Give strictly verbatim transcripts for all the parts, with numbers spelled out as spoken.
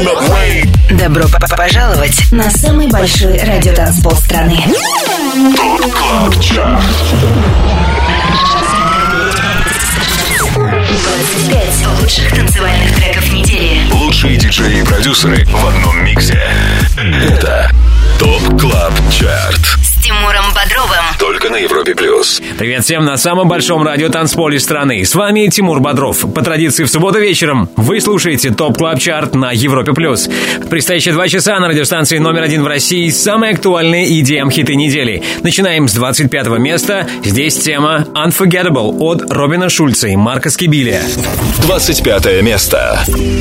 Добро пожаловать на самый большой радиотанцпол страны. двадцать пять лучших танцевальных треков недели. Лучшие диджеи и продюсеры в одном миксе. Это ТОП Клаб Чарт С Тимуром Бодровым. Только на Европе Плюс. Привет всем на самом большом радиотанцполе страны. С вами Тимур Бодров. По традиции в субботу вечером вы слушаете ТОП Клаб Чарт на Европе Плюс. В предстоящие два часа на радиостанции номер один в России самые актуальные и ди эм-хиты недели. Начинаем с двадцать пятого места. Здесь тема Unforgettable от Робина Шульца и Марка Скибилия. двадцать пятое место.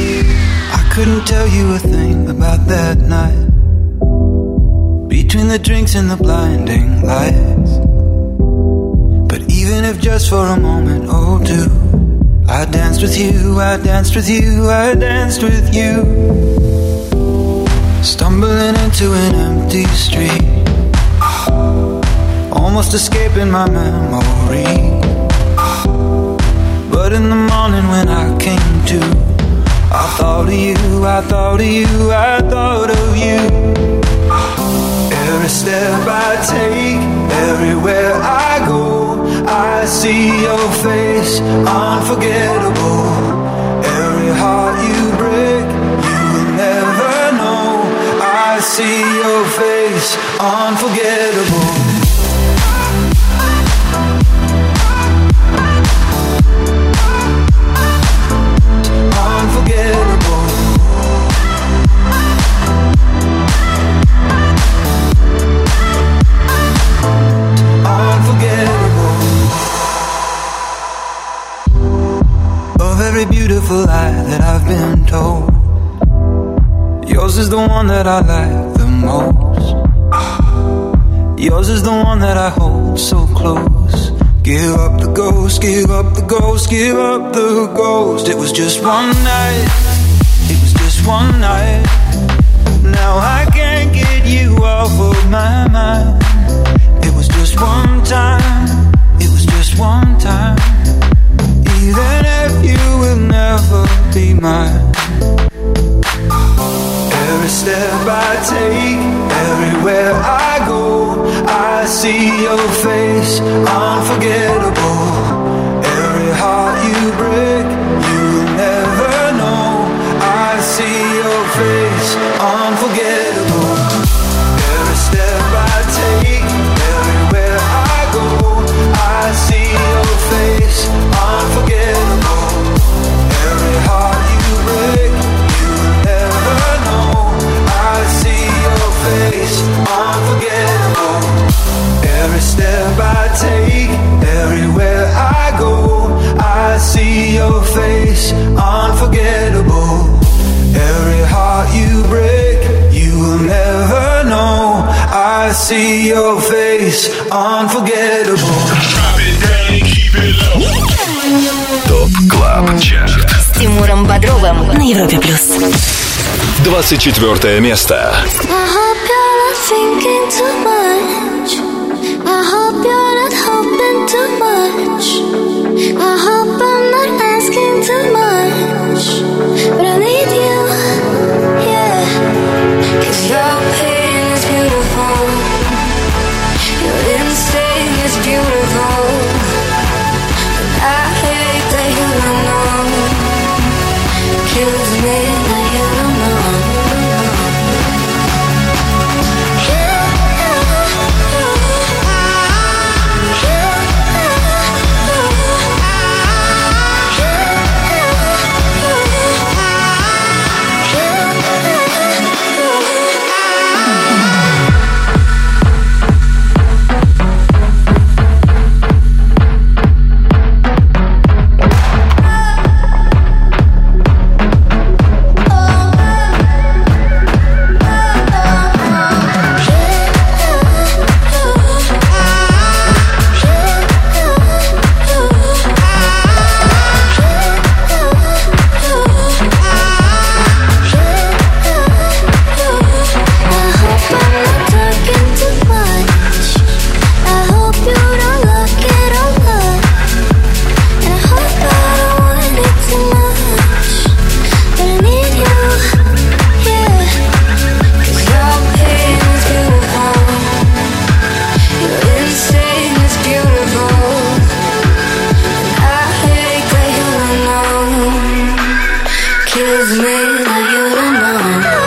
Between the drinks and the blinding lights, but even if just for a moment or two, I danced with you, I danced with you, I danced with you. Stumbling into an empty street, almost escaping my memory. But in the morning when I came to, I thought of you, I thought of you, I thought of you. Every step I take, everywhere I go, I see your face, unforgettable. Every heart you break, you will never know. I see your face, unforgettable. Every beautiful lie that I've been told, yours is the one that I like the most. Yours is the one that I hold so close. Give up the ghost, give up the ghost, give up the ghost. It was just one night, it was just one night. Now I can't get you off of my mind. It was just one time, it was just one time. Even if you will never be mine. Every step I take, everywhere I go, I see your face, unforgettable. Every heart you break, you will never know. I see your face, unforgettable. Every step I take, everywhere I go, I see your face, unforgettable. Every heart you break, you will never know. I see your face, unforgettable. Every step I take, everywhere I go, I see your face, unforgettable. Every heart you break, you will never know. I see your face, unforgettable. ТОП Клаб Чарт С Тимуром Бодровым на Европе Плюс. двадцать четвертое место. Kills me that you don't know.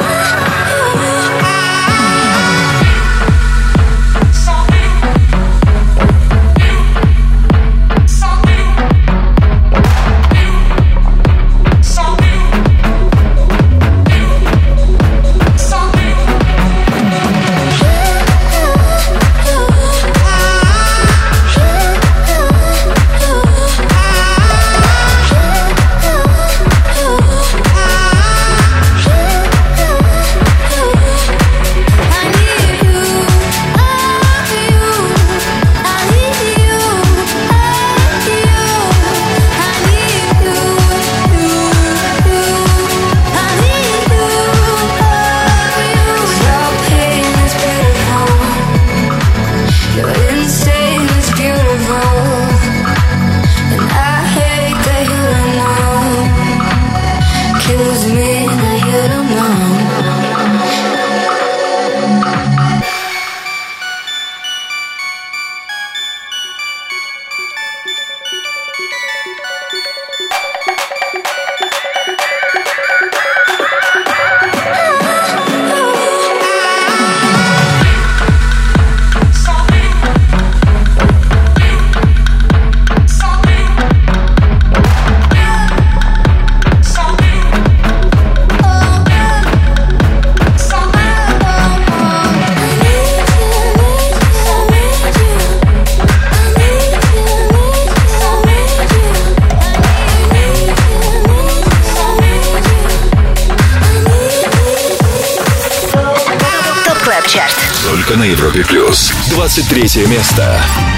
Только на Европе плюс. двадцать третье место.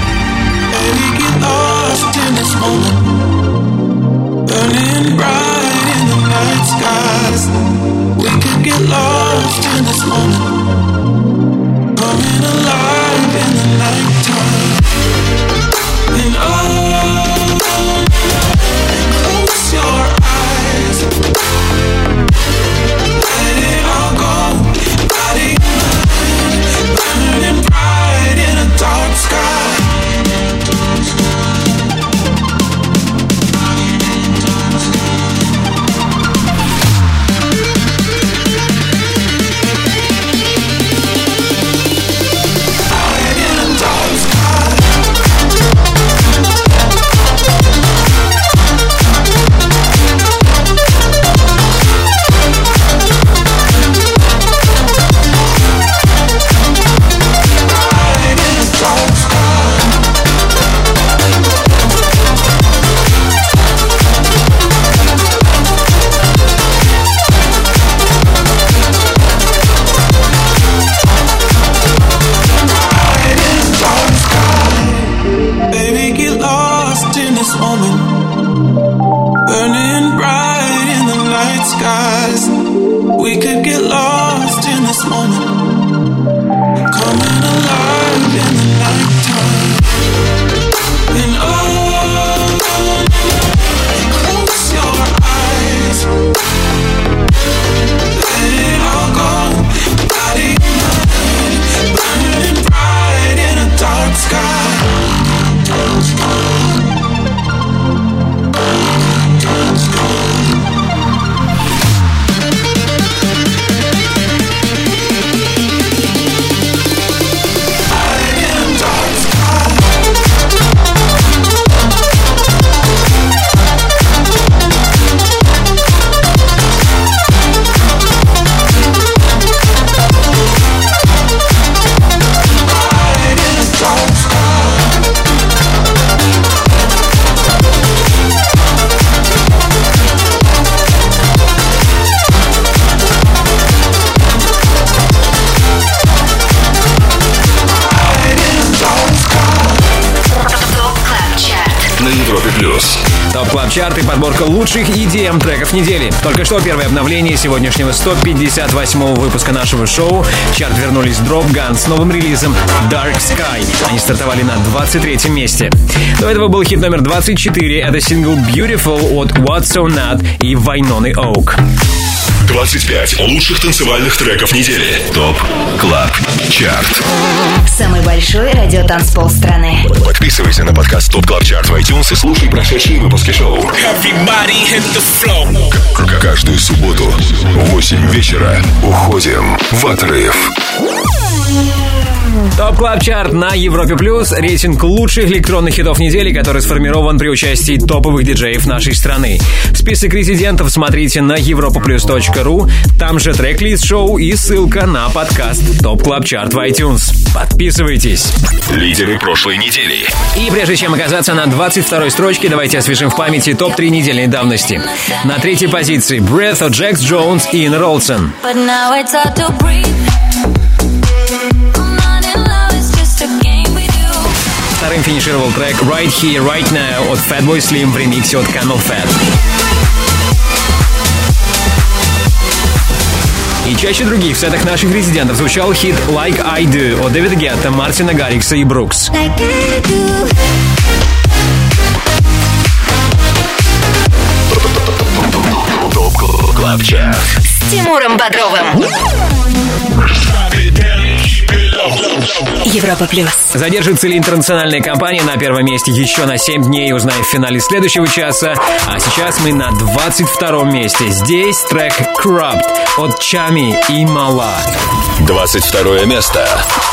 Топ Клаб Чарт и подборка лучших и ди эм треков недели. Только что первое обновление сегодняшнего сто пятьдесят восьмого выпуска нашего шоу. В чарт вернулись Drop Gun с новым релизом Dark Sky. Они стартовали на двадцать третьем месте. До этого был хит номер двадцать четыре. Это сингл Beautiful от What's So Not и Вайноны Оук. двадцать пять лучших танцевальных треков недели. ТОП КЛАБ ЧАРТ. Самый большой радиотанцпол страны. Подписывайся на подкаст ТОП КЛАБ ЧАРТ в iTunes и слушай прошедшие выпуски шоу. К- Каждую субботу в восемь вечера уходим в отрыв. ТОП Клаб Чарт на Европе Плюс. Рейтинг лучших электронных хитов недели, который сформирован при участии топовых диджеев нашей страны. Список резидентов смотрите на европа плюс точка ру. Там же трек-лист шоу и ссылка на подкаст ТОП Клаб Чарт в iTunes. Подписывайтесь. Лидеры прошлой недели. И прежде чем оказаться на двадцать второй строчке, давайте освежим в памяти топ три недельной давности. На третьей позиции Breath от Джекс Джонс и Ин Ролсон. Вторым финишировал трек Right Here, Right Now от Fatboy Slim в ремиксе от Camel Fat. И чаще других в сетах наших резидентов звучал хит Like I Do от Дэвида Гетта, Мартина Гаррикса и Брукс. ТОП КЛАБ ЧАРТ С Тимуром Бодровым. Европа Плюс. Задержится ли интернациональная компания на первом месте еще на семь дней, узнаем в финале следующего часа. А сейчас мы на двадцать втором месте. Здесь трек Corrupt от Чами и Мала. двадцать второе место.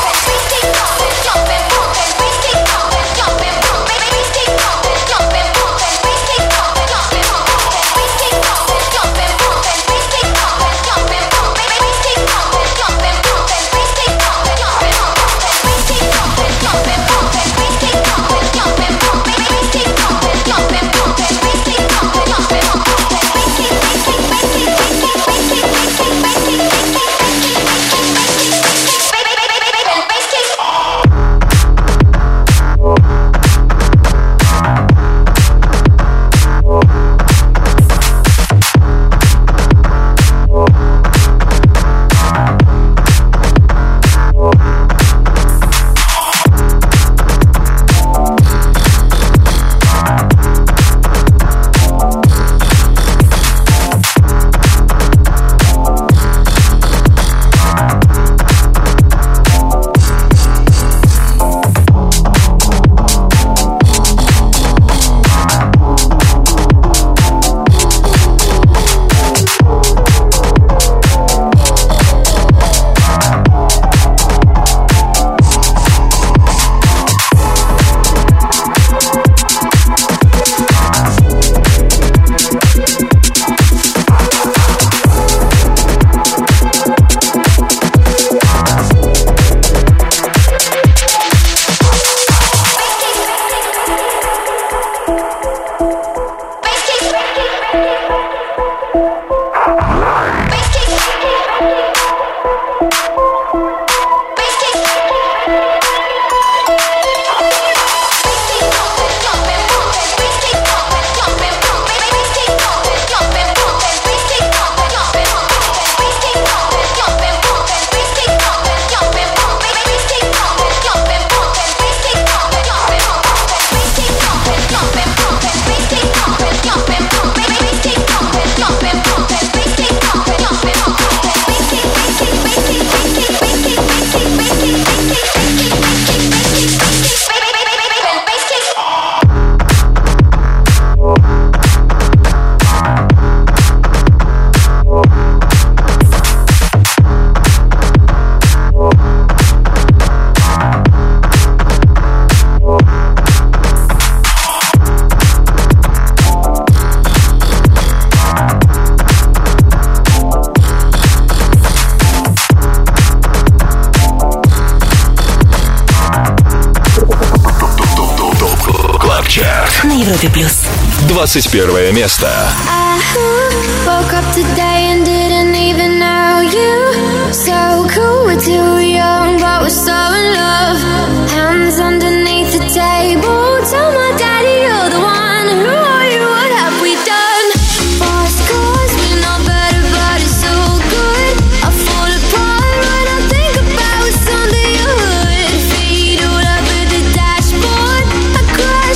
На Европе Плюс. двадцать первое место.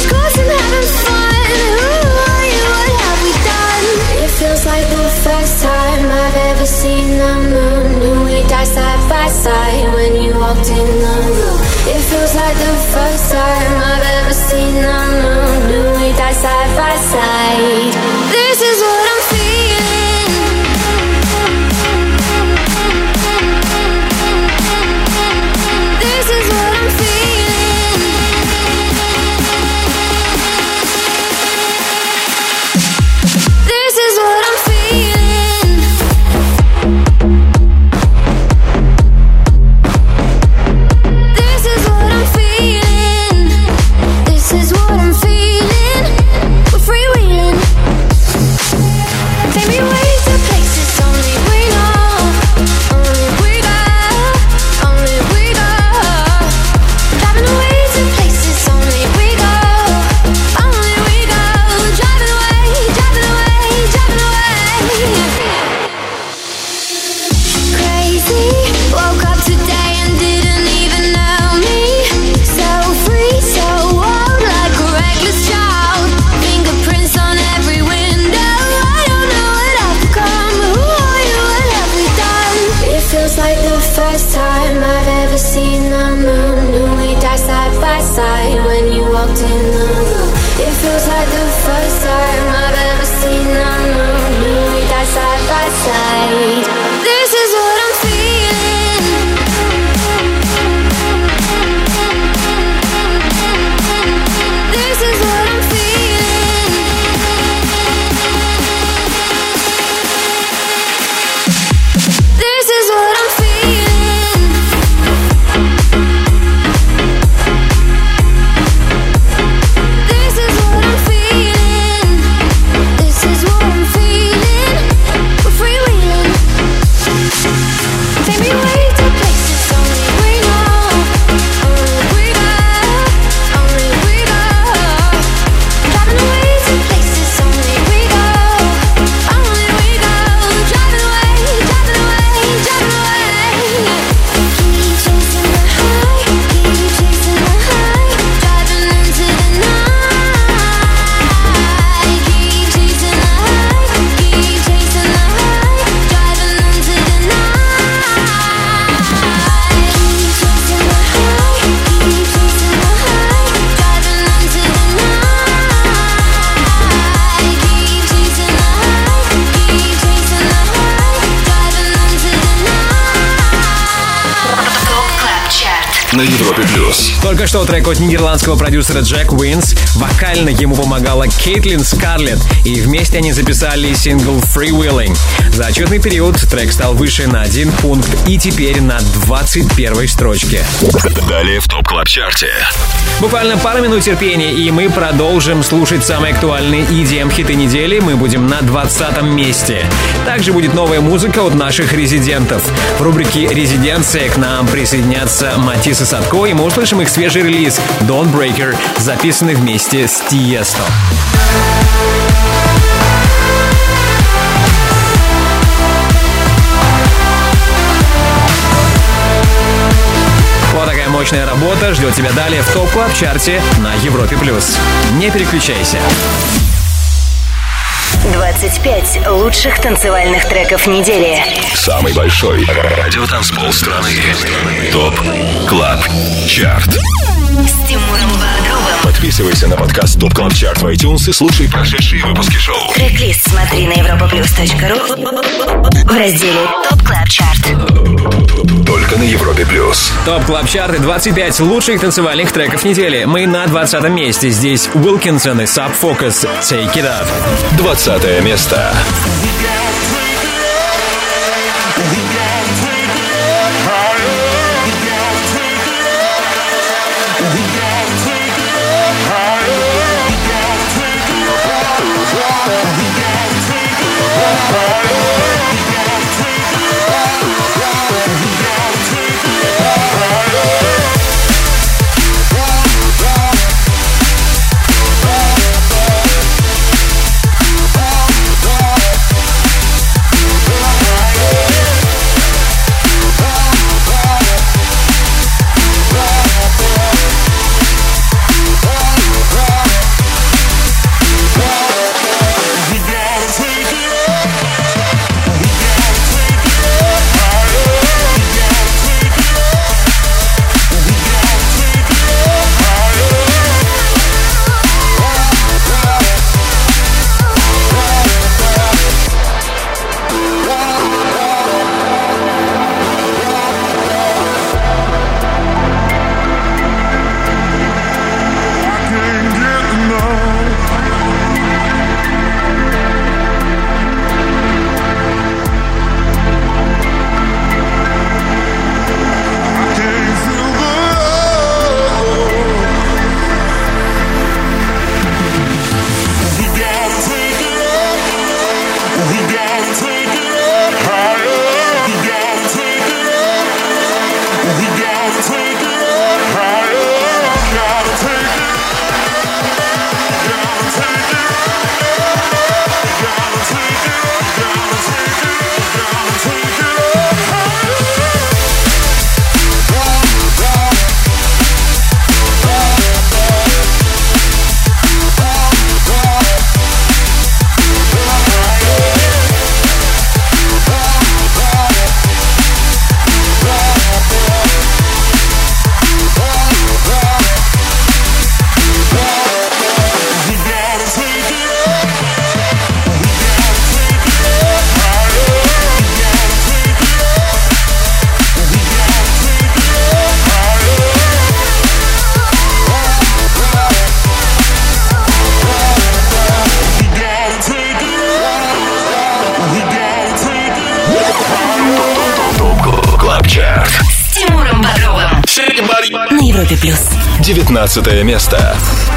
Feels like the first time die side by side when you walked in the room. It feels like the first time I've ever seen the moon. Do we die side by side? This is what I'm feeling. This is what I'm feeling. This is what I'm feeling. This is what I'm feeling. This is what I'm feeling. We're freewheeling. Take me away to places only we know. Only we go. Only we go. Driving away to places only we go. Only we go. Driving away, driving away, driving away. Crazy. Woke up today and didn't even know me. So free, so wild, like a reckless child. Fingerprints on every window. I don't know what I've become. Who are you? What have we done? It feels like the first time I've ever seen the moon. Do we die side by side when you walked in the room? It feels like the first time I've ever seen the moon. Do we die side by side? This is what I'm feeling. This is what I'm feeling. This is what I'm feeling. This is what I'm feeling. This is what I'm feeling. We're freewheeling. Take me away to places only we know. Only we go. Only we go. Driving away to places only we go. Only we go. Driving away, driving away, driving away. Keep chasing the high, keep chasing the high. Driving into the night. Keep chasing the high, keep chasing the high. Driving into the night. Keep chasing the high, keep chasing the high. Driving into the night. Keep chasing the high, keep chasing the high. Driving into the night. ТОП КЛАБ ЧАРТ. На Европе плюс. Только что трек от нидерландского продюсера Джек Уинс. Вокально ему помогала Кейтлин Скарлетт, и вместе они записали сингл «Freewheeling». За отчетный период трек стал выше на один пункт и теперь на двадцать первой строчке. Далее в ТОП Клаб Чарте. Буквально пару минут терпения, и мы продолжим слушать самые актуальные и ди эм-хиты недели. Мы будем на двадцатом месте. Также будет новая музыка от наших резидентов. В рубрике «Резиденция» к нам присоединятся Матис и Садко, и мы услышим их свежий релиз «Don't Breaker», записанный вместе с Тиесто. Вот такая мощная работа ждет тебя далее в ТОП Клаб Чарте на Европе плюс. Не переключайся. двадцать пять лучших танцевальных треков недели. Самый большой радиотанцпол страны. ТОП Клаб Чарт. С Тимуром Бодровым. Подписывайся на подкаст ТОП Клаб Чарт в iTunes и слушай прошедшие выпуски шоу. Трек-лист смотри на европаплюс точка ру в разделе ТОП КЛАБ ЧАРТ. Только на Европе плюс. ТОП Клаб Чарт, двадцать пять лучших танцевальных треков недели. Мы на двадцатом месте. Здесь Уилкинсон и Sub Focus «Take It Up». Двадцатое место. Чарт с Тимуром Бодровым на Европе плюс. девятнадцатое место.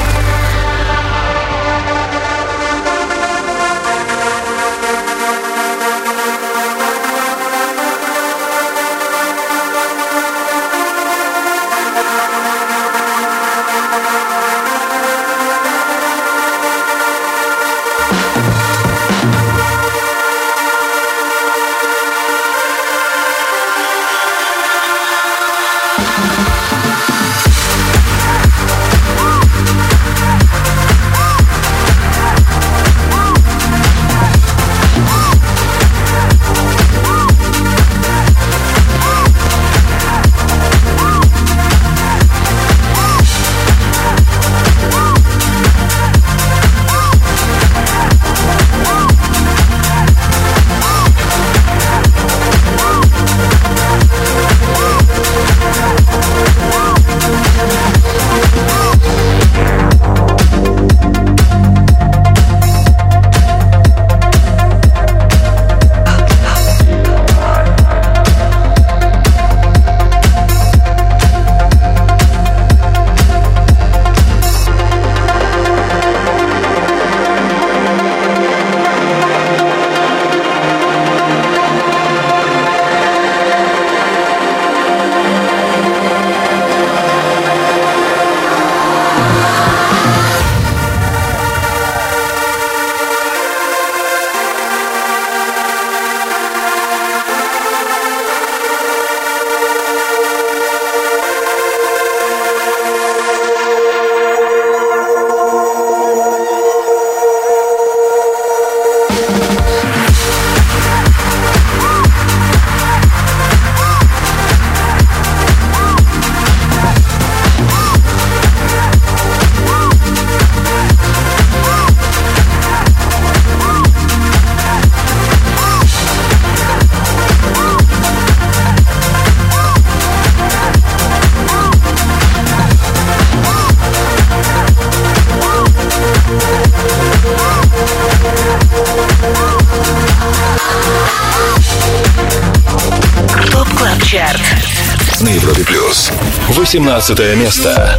На Европе плюс. восемнадцатое место.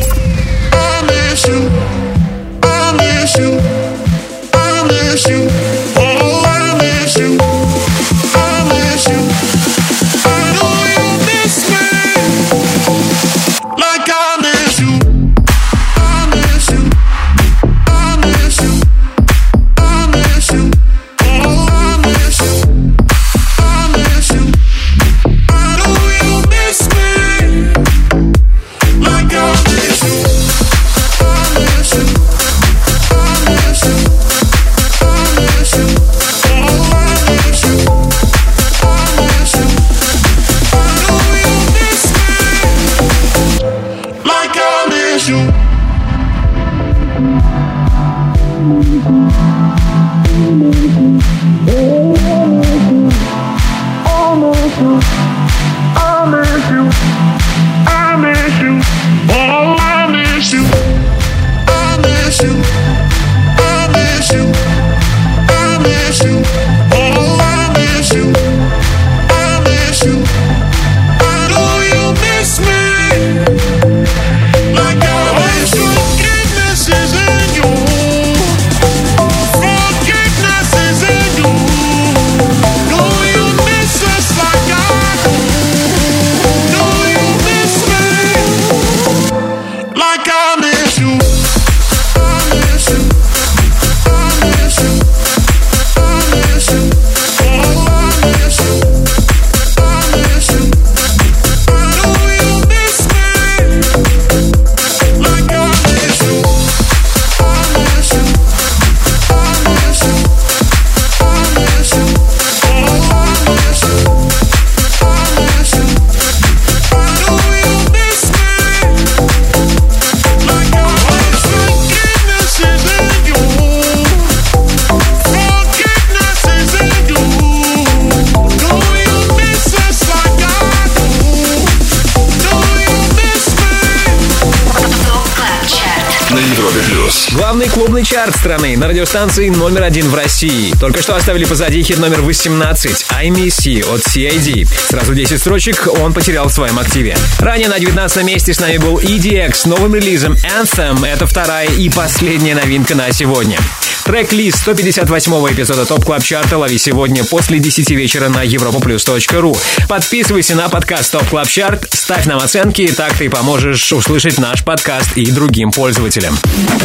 Главный клубный чарт страны на радиостанции номер один в России. Только что оставили позади хит номер восемнадцать «I Miss You» от си ай ди. Сразу десять строчек он потерял в своем активе. Ранее на девятнадцатом месте с нами был и ди экс с новым релизом Anthem. Это вторая и последняя новинка на сегодня. Трек-лист сто пятьдесят восьмого эпизода ТОП Клаб Чарта лови сегодня после десяти вечера на европа плюс точка ру. Подписывайся на подкаст ТОП Клаб Чарт, ставь нам оценки, так ты поможешь услышать наш подкаст и другим пользователям.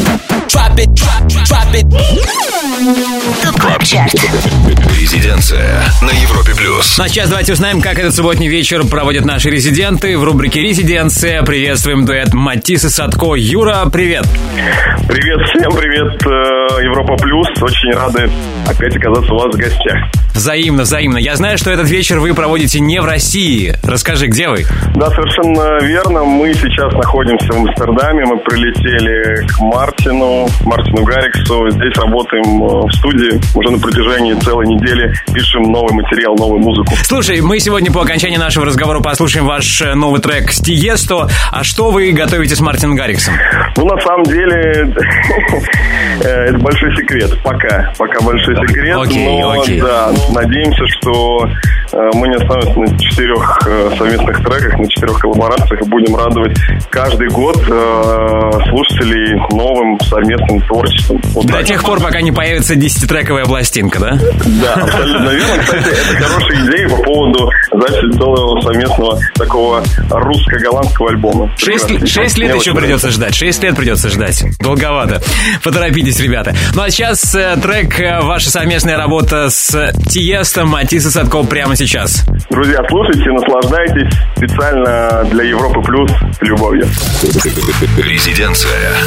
ТОП Клаб Чарт. Резиденция на Европе плюс. Ну а сейчас давайте узнаем, как этот субботний вечер проводят наши резиденты. В рубрике «Резиденция» приветствуем дуэт Матис и Садко. Юра, привет! Привет всем, привет, Европа Плюс. Очень рады опять оказаться у вас в гостях. Взаимно, взаимно. Я знаю, что этот вечер вы проводите не в России. Расскажи, где вы? Да, совершенно верно. Мы сейчас находимся в Амстердаме. Мы прилетели к Мартину, Мартину Гарриксу. Здесь работаем в студии. Уже на протяжении целой недели пишем новый материал, новую музыку. Слушай, мы сегодня по окончании нашего разговора послушаем ваш новый трек с Тиесто. А что вы готовите с Мартином Гарриксом? Ну, на самом деле, это большой секрет. Пока. Пока большой секрет. Окей, но, окей. Да, надеемся, что мы не останемся на четырех совместных треках, на четырех коллаборациях и будем радовать каждый год слушателей новым совместным творчеством. Вот До так. тех пор, пока не появится десятитрековая пластинка, да? Да, абсолютно верно. Кстати, это хорошая идея по поводу записи целого совместного такого русско-голландского альбома. Шесть, Прекрасно. шесть лет Мне еще очень придется ждать. Шесть лет придется ждать. Долговато. Поторопитесь, ребята. Ну а сейчас э, трек, э, ваша совместная работа с Тиесто, Матис и Садко прямо сейчас. Друзья, слушайте, наслаждайтесь. Специально для Европы Плюс с любовью. Резиденция.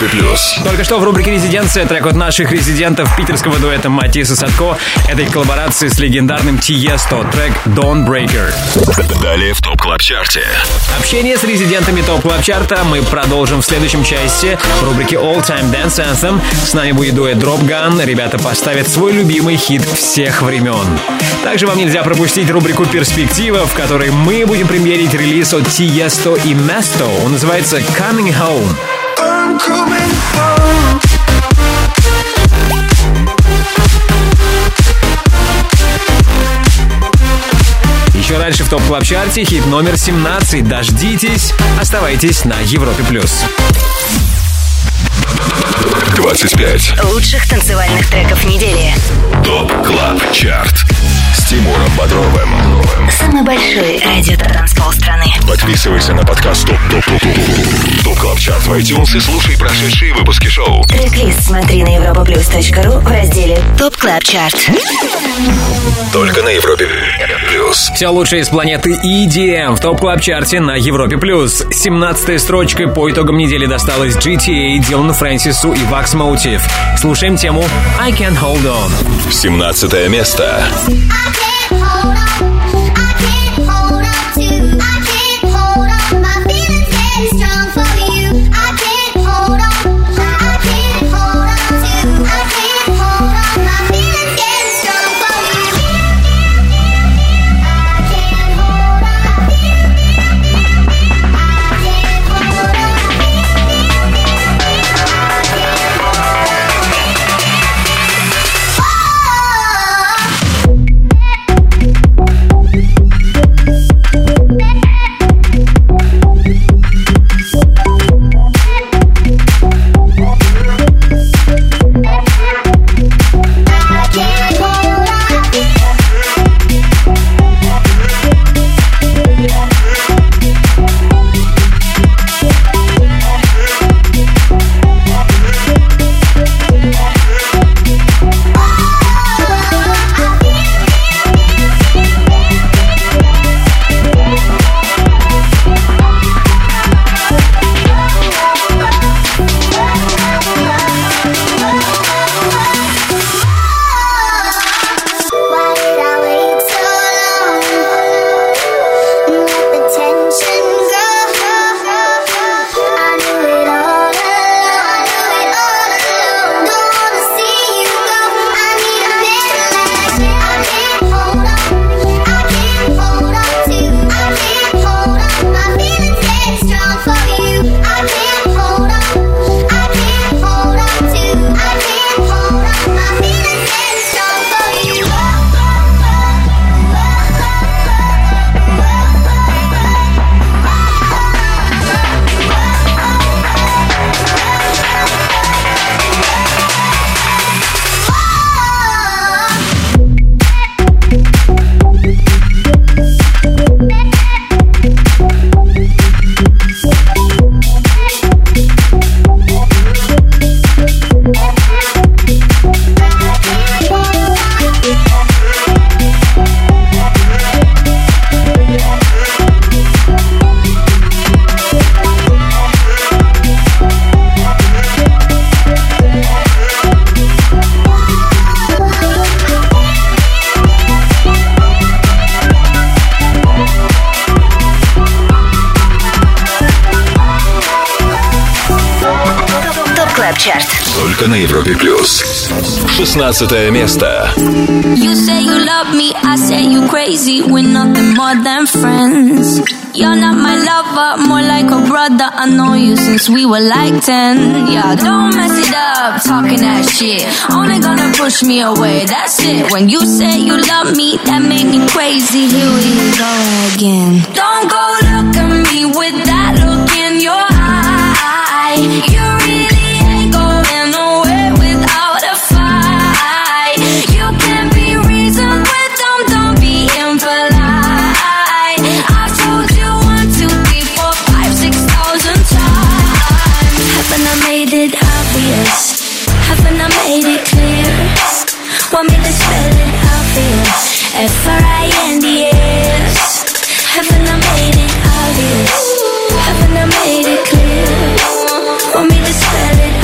Европе плюс. Только что в рубрике «Резиденция» трек от наших резидентов питерского дуэта Матис и Садко. Это их коллаборация с легендарным Тиесто, трек «Dawnbreaker». Далее в ТОП Клаб Чарте. Общение с резидентами ТОП Клаб Чарта мы продолжим в следующем части в рубрике All Time Dance Anthem. С нами будет дуэт Drop Gun. Ребята поставят свой любимый хит всех времен. Также вам нельзя пропустить рубрику «Перспектива», в которой мы будем премьерить релиз от Тиесто и Место. Он называется «Coming Home». I'm coming home. Еще раньше в ТОП Клаб Чарте хит номер семнадцать. Дождитесь, оставайтесь на Европе плюс. двадцать пять лучших танцевальных треков недели. ТОП Клаб Чарт с Тимуром Бодровым. Самый большой радио-транспол страны. Подписывайся на подкаст ТОП ТОП ТОП ТОП ТОП Клаб Чарт в iTunes и слушай прошедшие выпуски шоу. Трек-лист смотри на европаплюс точка ру в разделе ТОП Клаб Чарт. Только на Европе плюс. Все лучшее из планеты и ди эм в ТОП Клаб Чарте на Европе плюс. семнадцатой строчкой по итогам недели досталось джи ти эй, Дилану Фрэнсису и Wax Motive. Слушаем тему I Can't Hold On. семнадцатое место. Чарт. Только на Европе плюс. шестнадцатое место. You say you love me, I say you crazy. We're nothing more than friends. You're not my lover, more like a brother. I know you since we were like ten. Yeah, don't mess it up, talking that shit. Only gonna push me away, that's it. When you say you love me, that made me crazy. Here we go again. Don't go look at me with that look in your eye. You really ain't going nowhere without a fight. You can be reasoned with them, don't be impolite. I've told you one, two, three, four, five, six thousand times. Haven't I made it obvious? Haven't I made it clear? Want me to spell it out for you? F R I N D S. Haven't I made it obvious? Haven't I made it clear? Want me to spell it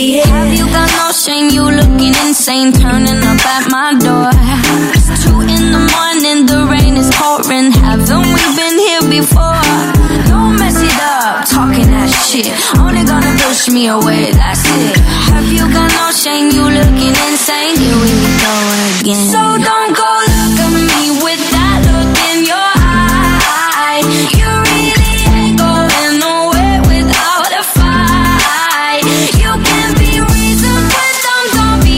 idiot. Have you got no shame? You looking insane, turning up at my door. It's two in the morning, the rain is pouring. Haven't we been here before? Don't mess it up, talking that shit. Only gonna push me away, that's it. Have you got no shame? You looking insane. Here we go again. So don't go look at me with that look in your eye. You really ain't going nowhere without a fight. You can be reasoned with them, don't be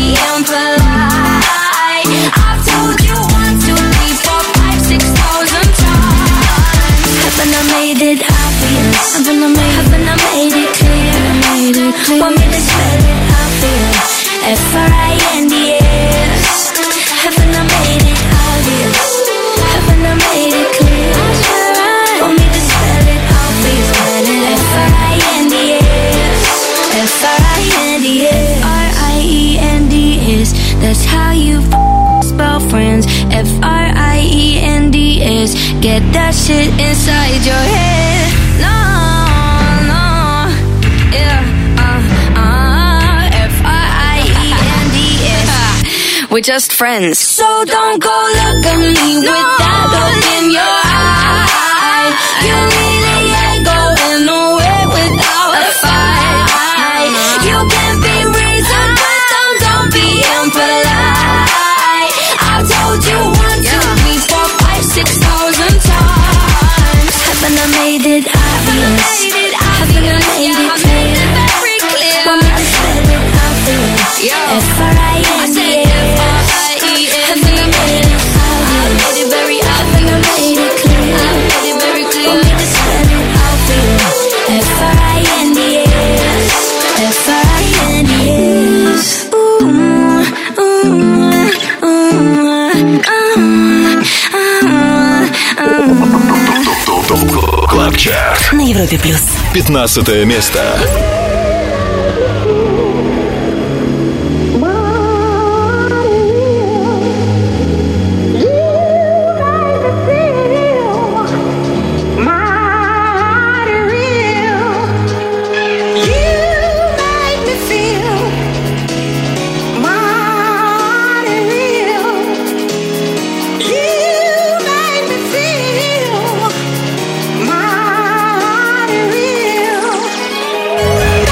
impolite. I've told you one, two, three, four, five, six thousand times. Haven't I made it obvious? Haven't I made, haven't I made it clear? Made it clear. Want me to spell it obvious? F R I N D S. Haven't I made it obvious? Haven't I made it clear? Want me to spell it obvious? F R I N D S. F R I N D S. R I E N D S. That's how you spell friends. F R I E N D S. Get that shit inside your head. No, no, yeah, uh, uh, F R I E N D S. We're just friends. So don't go look at me no, with that look in your eye. You really ain't going nowhere without a fight. You can be reasoned with them, don't be impolite. I've told you one, two, three, four, five, six thousand times. Haven't I made it obvious? Haven't I made it clear? Want me to spell it obvious? F R I N D S. Haven't I made it obvious? Haven't I made it clear? Want me to spell it obvious? F R I N D S. F R I N D S. Ooh, ooh, ooh, ooh, ooh. Клаб Чарт на Европе плюс. пятнадцатое место. Real.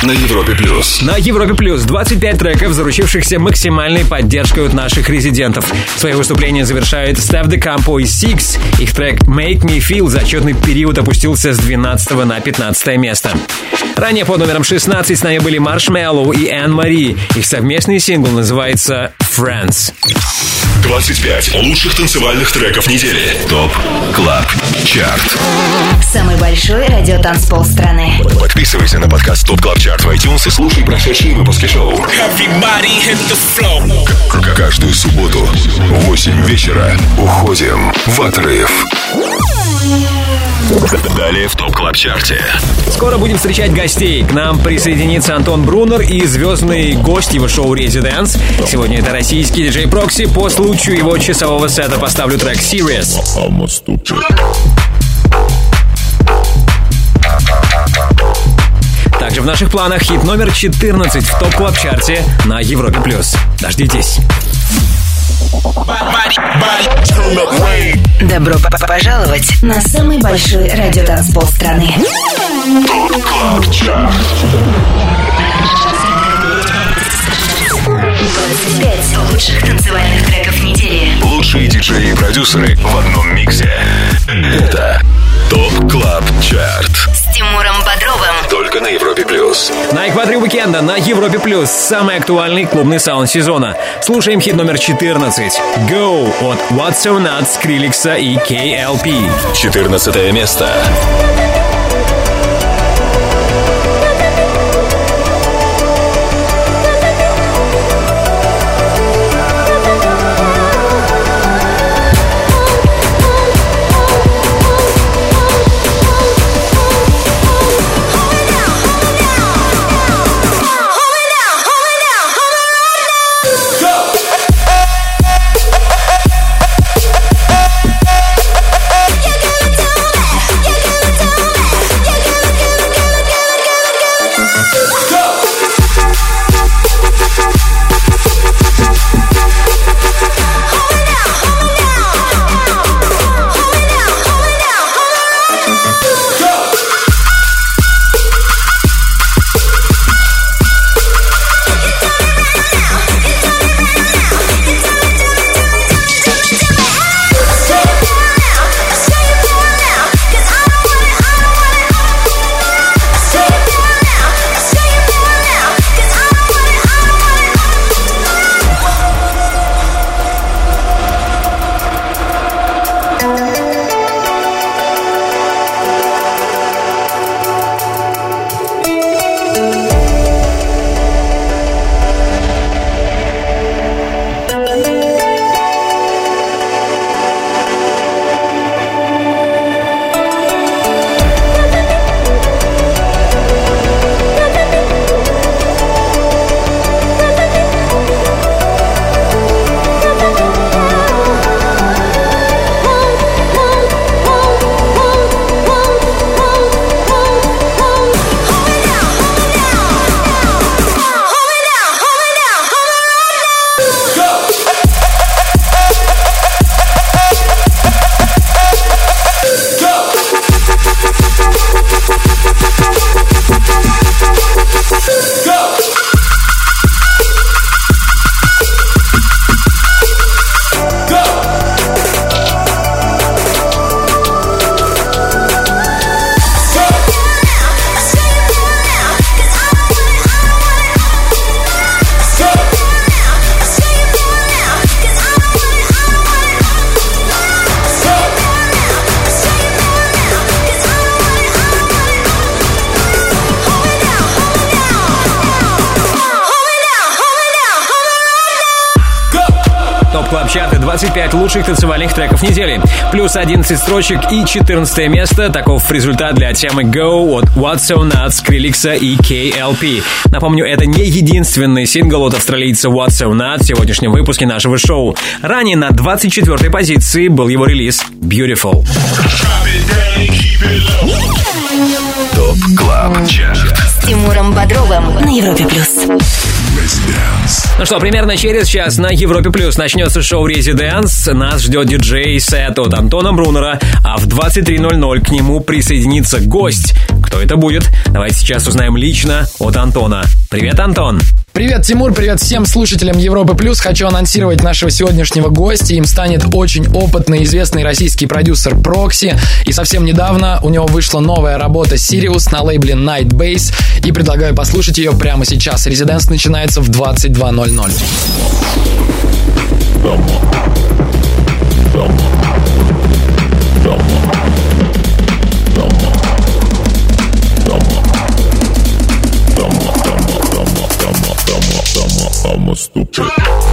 на Европе плюс. На Европе плюс двадцать пять треков, заручившихся максимальной поддержкой от наших резидентов. Свои выступления завершают Steph De Campo и Six. Их трек Make Me Feel за отчетный период опустился с двенадцатого на пятнадцатое место. Ранее под номером шестнадцать с нами были Marshmello и Anne Marie. Их совместный сингл называется Friends. двадцать пять лучших танцевальных треков недели. ТОП Клаб Чарт. Самый большой радиотанцпол страны. Подписывайся на подкаст ТОП Клаб Чарт в iTunes и слушай прошедшие выпуски шоу. К- Каждую субботу в восемь вечера уходим в отрыв. Далее в ТОП Клаб Чарте. Скоро будем встречать гостей. К нам присоединится Антон Брунер и звездный гость его шоу Residence. Сегодня это российский диджей Прокси. По случаю его часового сета поставлю трек Serious. Также в наших планах хит номер четырнадцать в ТОП Клаб Чарте на Европе плюс. Дождитесь. Добро п- пожаловать на самый большой радиотанцпол страны. двадцать пять лучших танцевальных треков недели. Лучшие диджеи и продюсеры в одном миксе. Это ТОП Клаб Чарт. С Тимуром Бодровым. Только на Европе плюс. На экваторе уикенда на Европе плюс самый актуальный клубный саунд сезона. Слушаем хит номер четырнадцать. Go от What's So Nuts, Скриликса и кей эл пи. четырнадцатое место. Чарты двадцать пять лучших танцевальных треков недели. Плюс одиннадцать строчек и четырнадцатое место. Таков результат для темы Go от What's So Nuts, Скриликса и кей эл пи. Напомню, это не единственный сингл от австралийца What's So Nuts в сегодняшнем выпуске нашего шоу. Ранее на двадцать четвёртой позиции был его релиз Beautiful. ТОП Клаб Чарт. С Тимуром Бодровым на Европе плюс. Ну что, примерно через час на Европе плюс начнется шоу Residence. Нас ждет диджей-сет от Антона Брунера, а в двадцать три ноль ноль к нему присоединится гость. Кто Кто это будет? Давайте сейчас узнаем лично от Антона. Привет, Антон! Привет, Тимур, привет всем слушателям Европы Плюс. Хочу анонсировать нашего сегодняшнего гостя. Им станет очень опытный, известный российский продюсер Прокси. И совсем недавно у него вышла новая работа Sirius на лейбле Night Base. И предлагаю послушать ее прямо сейчас. Резиденс начинается в двадцать два ноль ноль. I'm a stupid.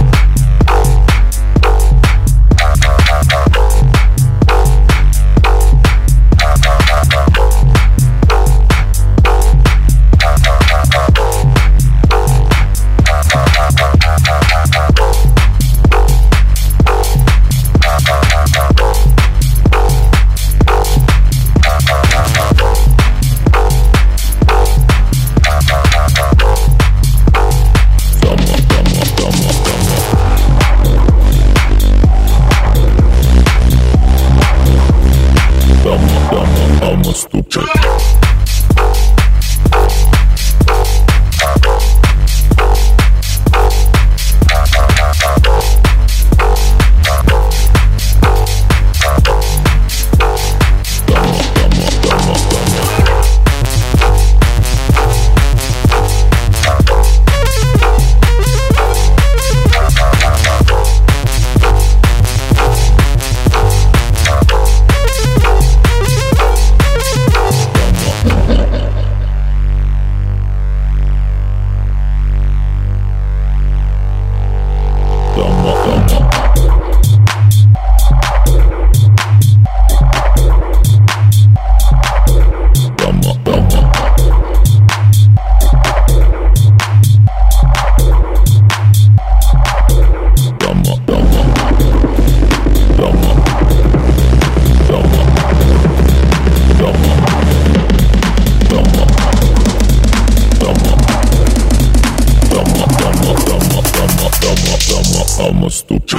I'm a stupid.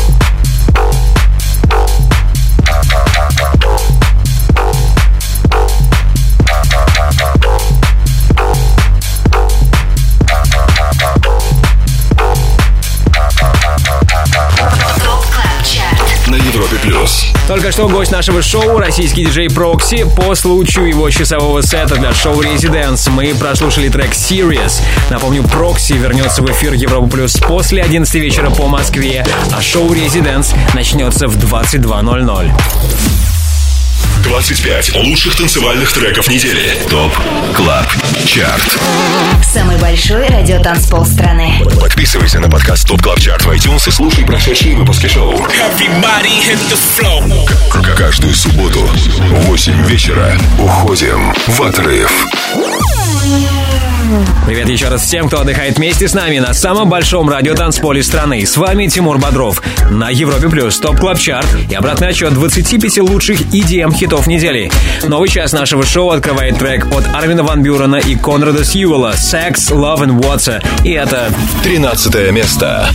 На Европе Плюс. Только что гость нашего шоу, российский диджей Прокси. По случаю его часового сета для шоу Residence мы прослушали трек Sirius. Напомню, Прокси вернется в эфир Европа Плюс после одиннадцати вечера по Москве, а шоу Residence начнется в двадцать два ноль ноль. двадцать пять лучших танцевальных треков недели. ТОП Клаб Чарт. Самый большой радиотанцпол страны. Подписывайся на подкаст ТОП Клаб Чарт в iTunes и слушай прошедшие выпуски шоу. К- Каждую субботу в восемь вечера уходим в отрыв. Привет еще раз всем, кто отдыхает вместе с нами на самом большом радиотанцполе страны. С вами Тимур Бодров на Европе Плюс ТОП Клаб Чарт и обратный отчет двадцати пяти лучших и ди эм хитов недели. Новый час нашего шоу открывает трек от Армина ван Бюрена и Конрада Сьюэлла «Sex, Love and Water». И это тринадцатое место.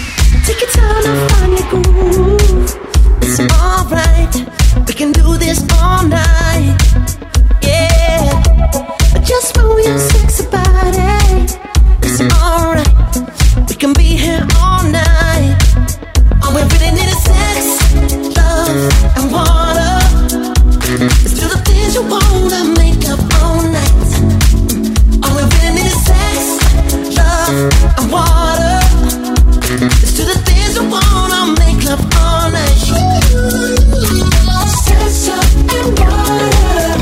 Just move your sexy body. It's alright. We can be here all night. All we really need is sex, love, and water. Let's do the things you wanna make up all night. All we really need is sex, love, and water. Let's do the things you wanna make up all night. Sex, love, and water.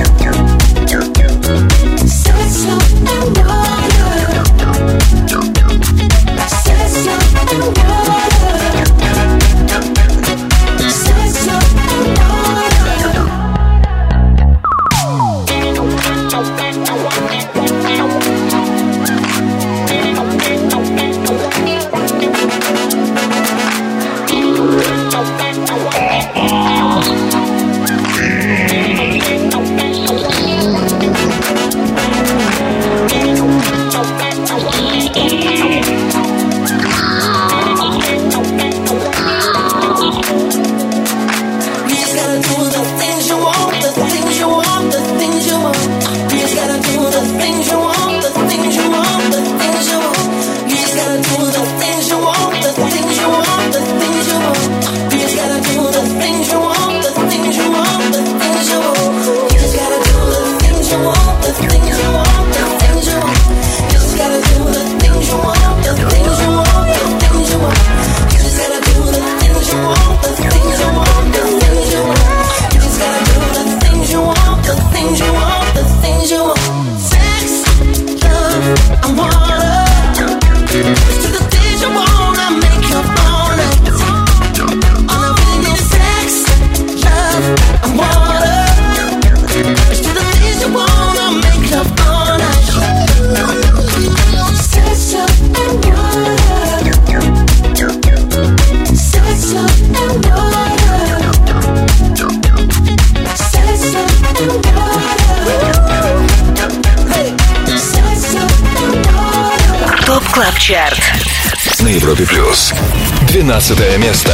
Клаб Чарт на Европе плюс. двенадцатое место.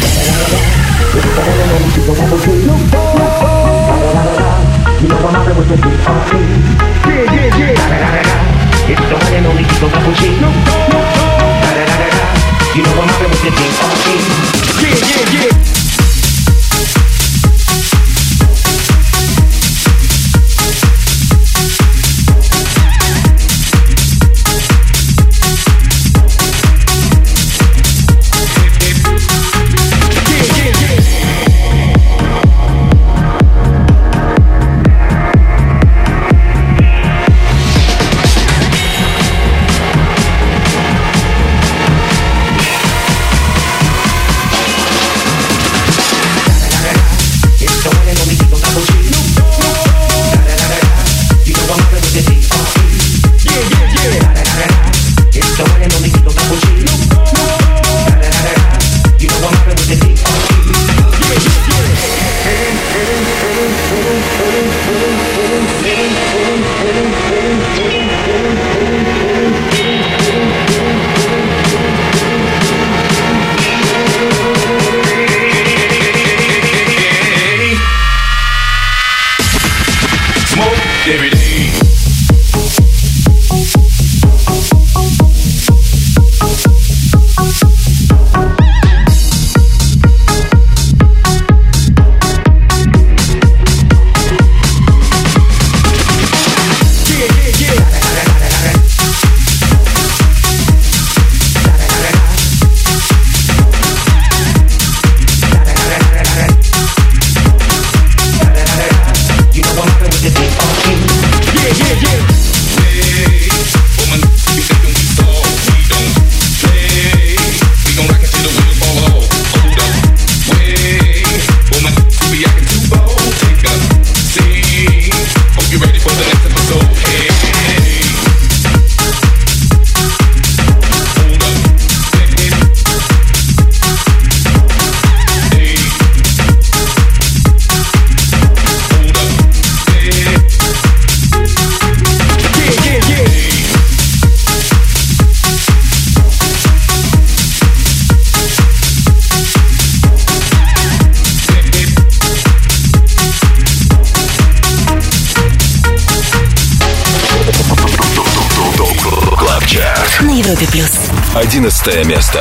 Европе плюс. Одиннадцатое место.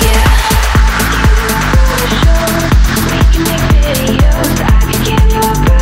Give you a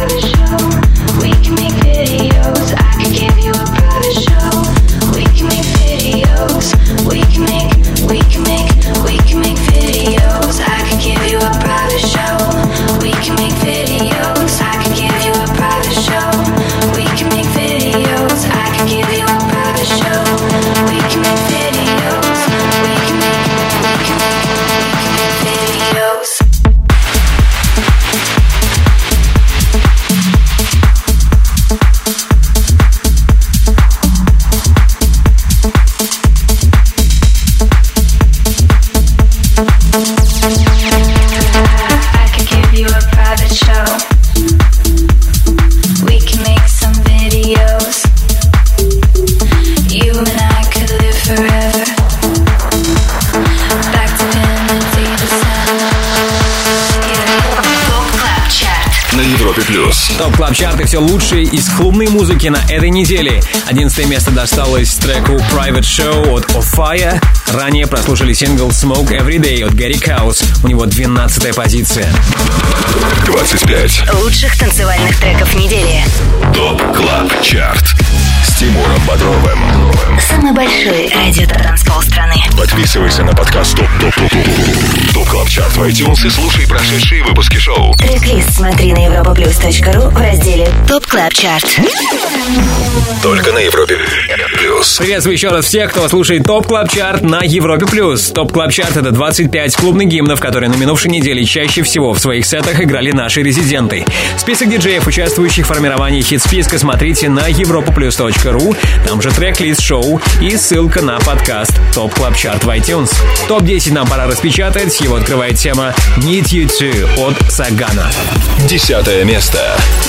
плюс. Топ Клаб Чарт и все лучшее из клубной музыки на этой неделе. Одиннадцатое место досталось треку Private Show от Offire. Ранее прослушали сингл Smoke Every Day от Gary Kaus. У него двенадцатая позиция. двадцать пять лучших танцевальных треков недели. Топ Клаб Чарт с Тимуром Бодровым. Самый большой радиотанцпол страны. Подписывайся на подкаст Топ Топ Топ Топ Клаб Чарт в iTunes и слушай прошедшие выпуски шоу. Трек-лист смотри на европаплюс точка ру в разделе Топ Клаб Чарт. Только на Европе Плюс. Приветствую еще раз всех, кто слушает Топ Клаб Чарт на Европе Плюс. Топ Клаб Чарт — это двадцать пять клубных гимнов, которые на минувшей неделе чаще всего в своих сетах играли наши резиденты. Список диджеев, участвующих в формировании хит-списка, смотрите на европаплюс точка ру. Там же трек-лист шоу и ссылка на подкаст Топ Клаб Чарт в iTunes. топ десять нам пора распечатать. Его открывает тема Need You To от Сагана. Десятое место.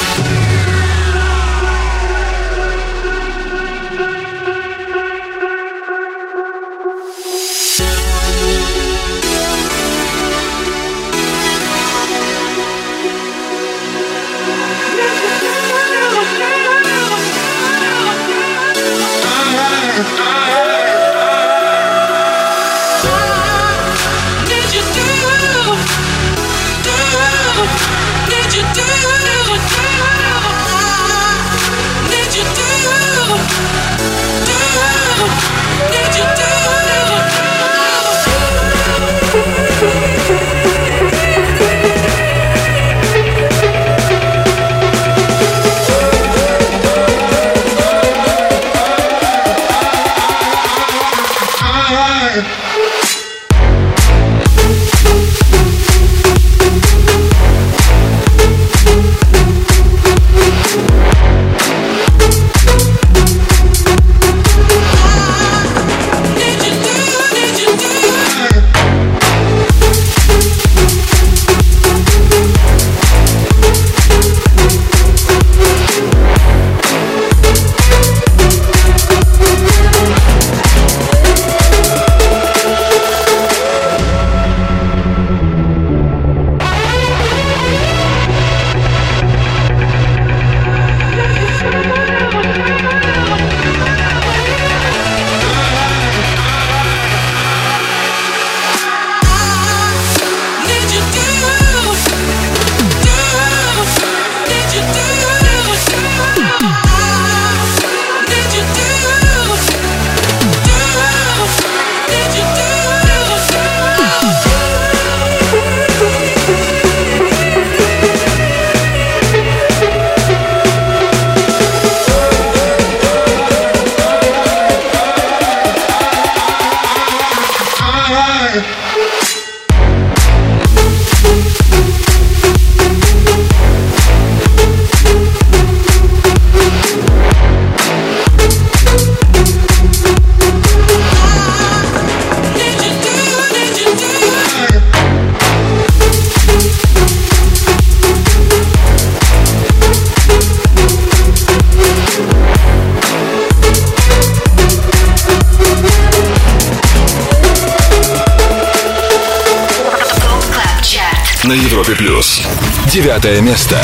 На Европе Плюс. Девятое место.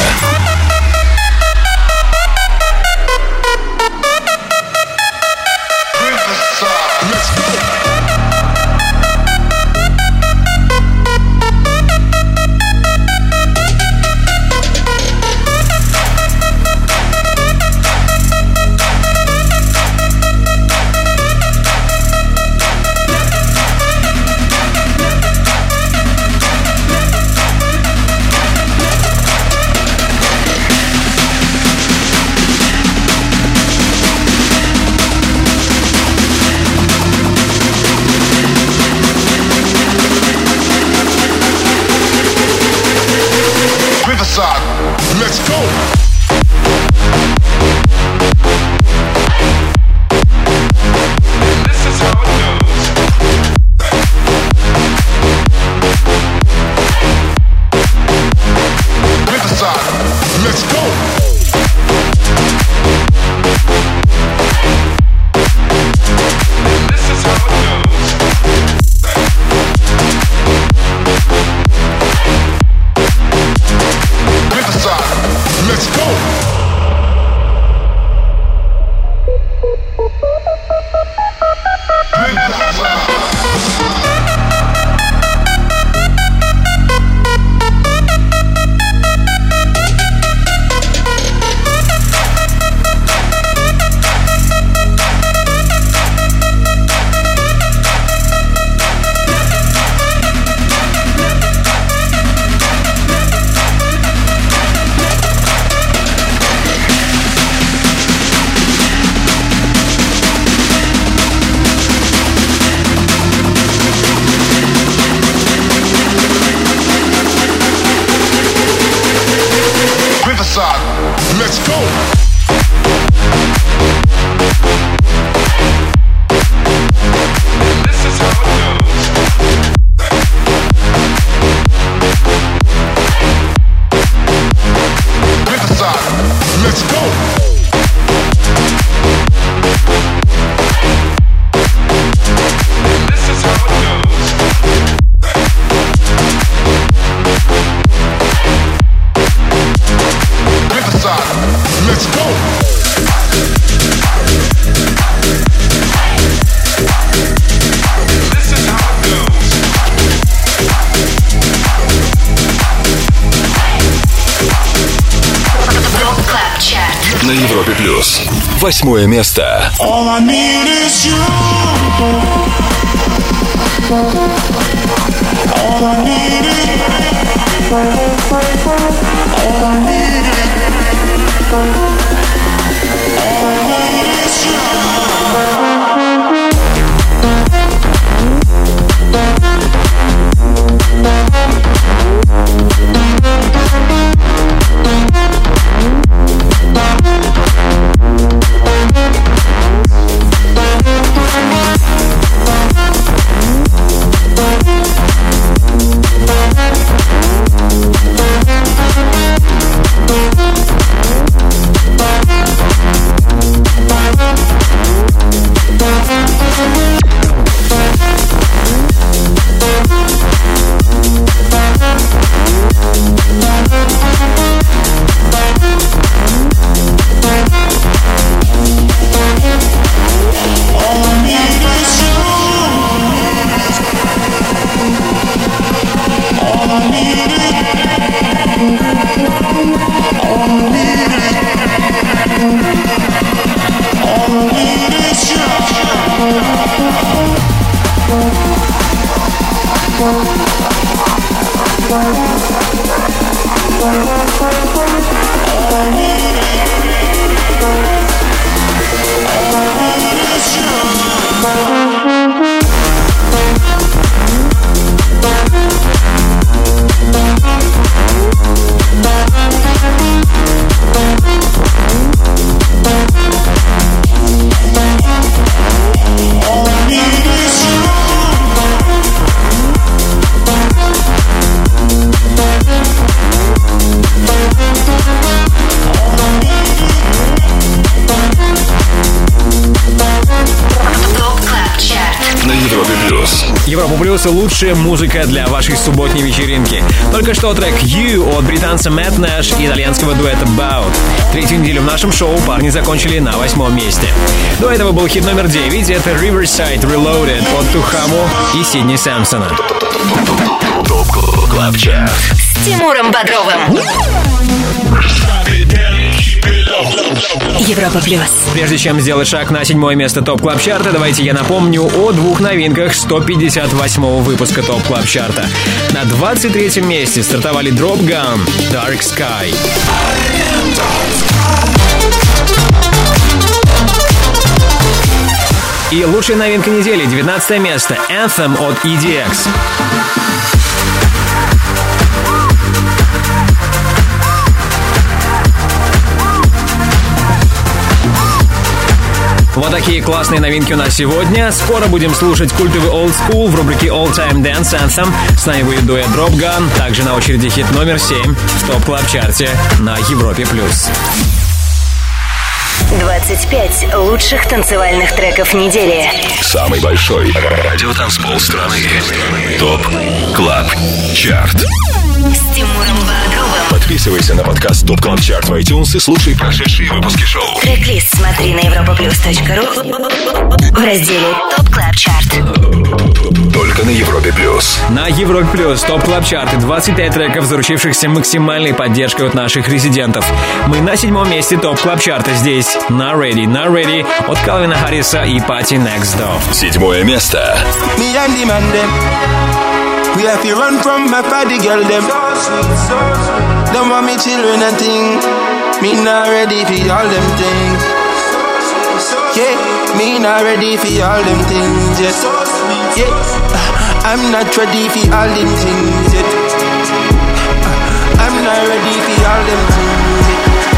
Riverside, let's go. This is how it goes. Riverside, let's go. This is how it goes. Riverside, let's go. This is how it goes. Топ Клаб Чарт На Европе плюс. Восьмое место. All I need is you. All I need is All I need is All I need is you. Европа Плюс — лучшая музыка для вашей субботней вечеринки. Только что трек You от британца Мэтт Нэш и итальянского дуэта Bout. Третью неделю в нашем шоу парни закончили на восьмом месте. До этого был хит номер девять. Это Riverside Reloaded от Тухаму и Сидни Сэмпсона. Топ Клаб Чарт с Тимуром Бодровым. Европа Плюс. Прежде чем сделать шаг на седьмое место ТОП Клаб Чарта, давайте я напомню о двух новинках сто пятьдесят восьмого выпуска ТОП Клаб Чарта. На двадцать третьем месте стартовали Drop Gun, Dark Sky. И лучшая новинка недели, девятнадцатое место, Anthem от и ди экс. Вот такие классные новинки у нас сегодня. Скоро будем слушать культовый Old School в рубрике All Time Dance Anthem. С нами будет дуэт Drop Gun. Также на очереди хит номер семь в ТОП Клаб Чарте на Европе+. двадцать пять лучших танцевальных треков недели. Самый большой радиотанцпол страны. ТОП Клаб Чарт. С Тимуром Бодровым. Подписывайся на подкаст ТОП Клаб Чарт в iTunes и слушай прошедшие выпуски шоу. Трек-лист смотри на европаплюс точка ру в разделе ТОП Клаб Чарт. Только на Европе Плюс. На Европе Плюс ТОП Клаб Чарты двадцать пять треков, заручившихся максимальной поддержкой от наших резидентов. Мы на седьмом месте ТОП Клаб Чарта. Здесь Not Ready, Not Ready от Калвина Харриса и Party Next Door. Седьмое место. Me and the man them, we have to run from my party girl them. Don't want me children and thing. Me not ready for all them things. Yeah, me not ready for all them things yet. Yeah, I'm not ready for all them things yet. I'm not ready for all them things yet.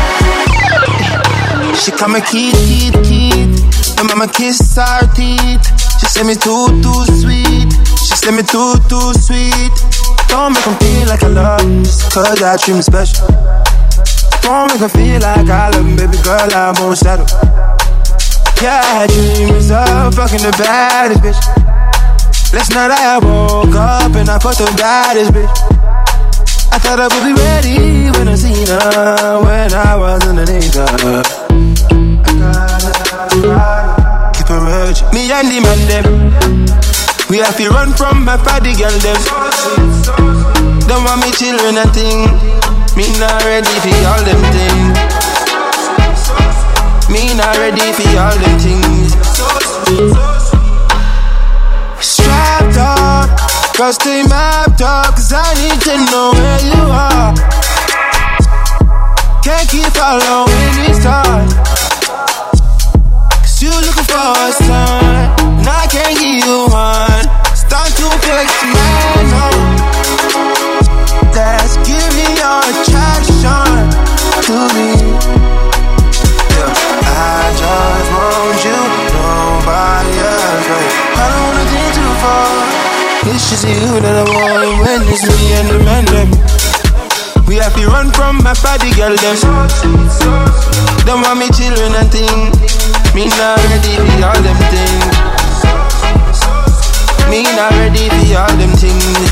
she call me Keith, Keith, Keith. And mama kiss her teeth. She say me too, too sweet. She say me too, too sweet. Don't make them feel like I love them, just cause I treat me special. Don't make them feel like I love them, baby girl, I won't settle. Yeah, I had dreams of fucking the baddest bitch. Last night I woke up and I fucked the baddest bitch. I thought I would be ready when I seen her, when I was underneath her. I gotta keep her urging. Me and the man them, we have to run from my party girl them. Don't want me children and thing. Me not ready for all them things. Me not ready for all them things. Strapped up, girl stay mapped up, cause I need to know where you are. Can't keep following these stars, cause you looking for a sign, and I can't give you one. Start to flex man on. Let's give me your attraction to me. Yeah, I just want you, nobody else, right? I don't wanna think too far. It's just you that I want when it's me and the man them. We have to run from my party girl them. Don't want me children and thing. Me not ready for all them things. Me not ready for all them things.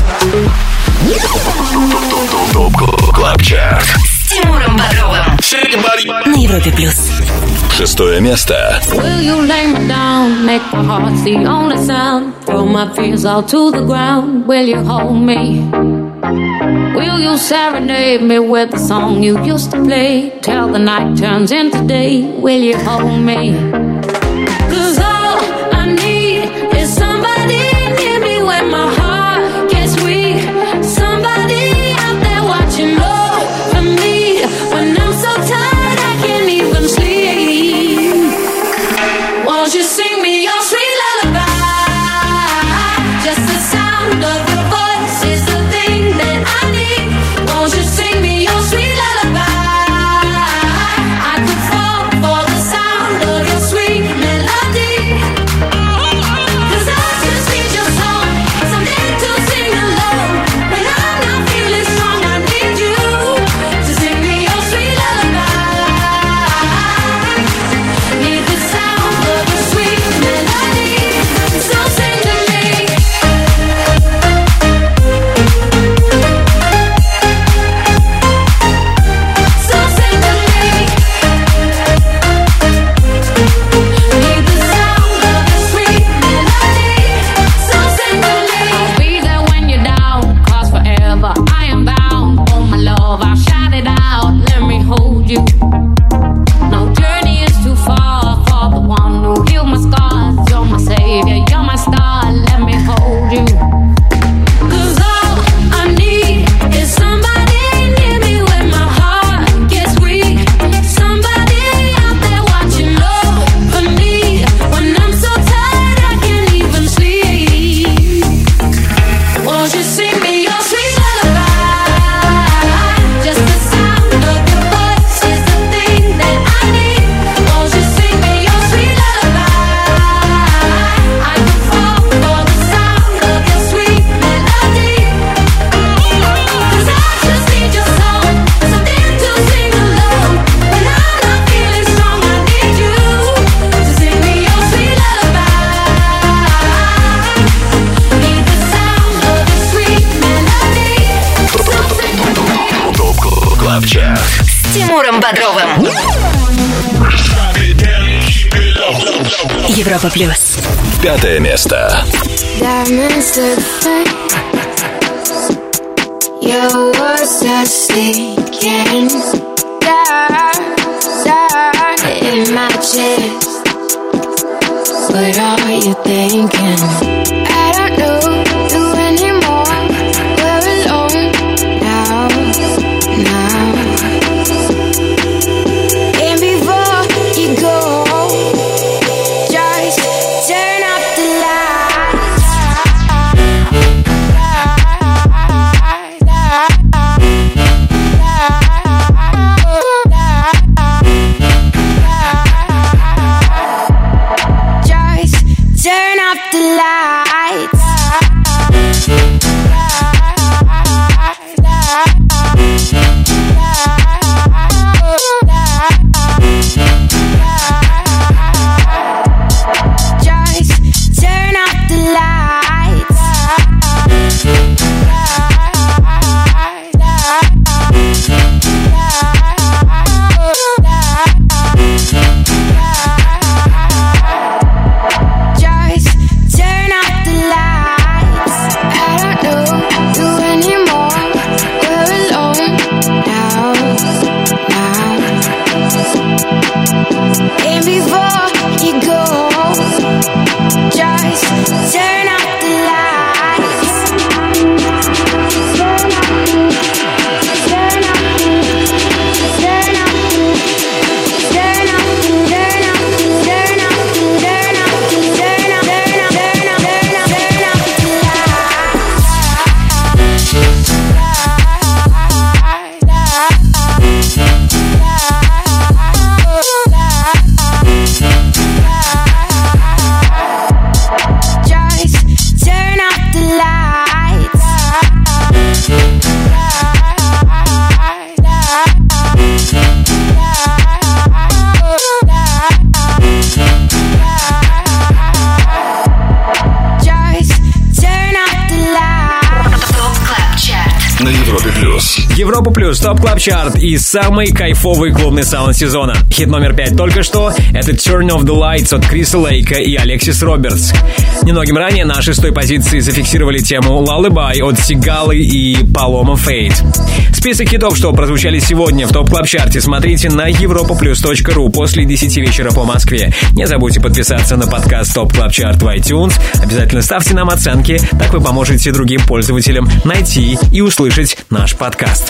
Клаб Чарт с Тимуром Бодровым на Европе плюс. Шестое место. Will you lay me down, make my heart the only sound, throw my fears all to the ground, will you hold me? Will you serenade me with the song you used to play, till the night turns into day, will you hold me? Cause all I need is somebody near me when my heart gets weak, somebody out there watching over me when I'm so tired I can't even sleep. Won't you sing me your sweet lullaby? Just the sound of your voice is the thing that I need. Won't you sing me your sweet lullaby? I could fall for the sound of your sweet melody. Cause I just need your song, something to sing along. When I'm not feeling strong, I need you to sing me your sweet lullaby. Need the sound of your sweet melody, so sing to me. So sing to me. Need the sound of your sweet melody, so sing to me. I'll be there when you're down, 'cause forever I am bound. Oh my love, I'll shout it out, let me hold you. No journey is too far for the one who healed my scars. You're my savior, you're my star, let me hold you. Cause all I need is somebody near me when my heart gets weak, somebody out there watching over me when I'm so tired I can't even sleep. Won't you sing me your sweet lullaby? Just the sound of your voice is the thing that I need. Won't you sing me your sweet lullaby? I could fall for the sound of your sweet melody. Cause I just need your song, something to sing along. When I'm not feeling strong, I need you to sing me your sweet lullaby. Need the sound of your sweet melody, so sing to me. Клаб Чарт. С Тимуром Бодровым. Европа плюс. Пятое место. Diamonds to the face. Your words are sinking down, down in my chest. What are you thinking? I don't know you anymore. We're alone now, now. And before you go, just turn off the lights. Европа Плюс, Топ Клаб Чарт и самый кайфовый клубный саунд сезона. Хит номер пять только что — это Turn Off the Lights от Криса Лейка и Алексис Робертс. Немногим ранее на шестой позиции зафиксировали тему Lullaby от Сигалы и Paloma Fate. Список хитов, что прозвучали сегодня в Топ Клаб Чарте, смотрите на европа плюс точка ру после десяти вечера по Москве. Не забудьте подписаться на подкаст Топ Клаб Чарт в iTunes. Обязательно ставьте нам оценки, так вы поможете другим пользователям найти и услышать наш подкаст.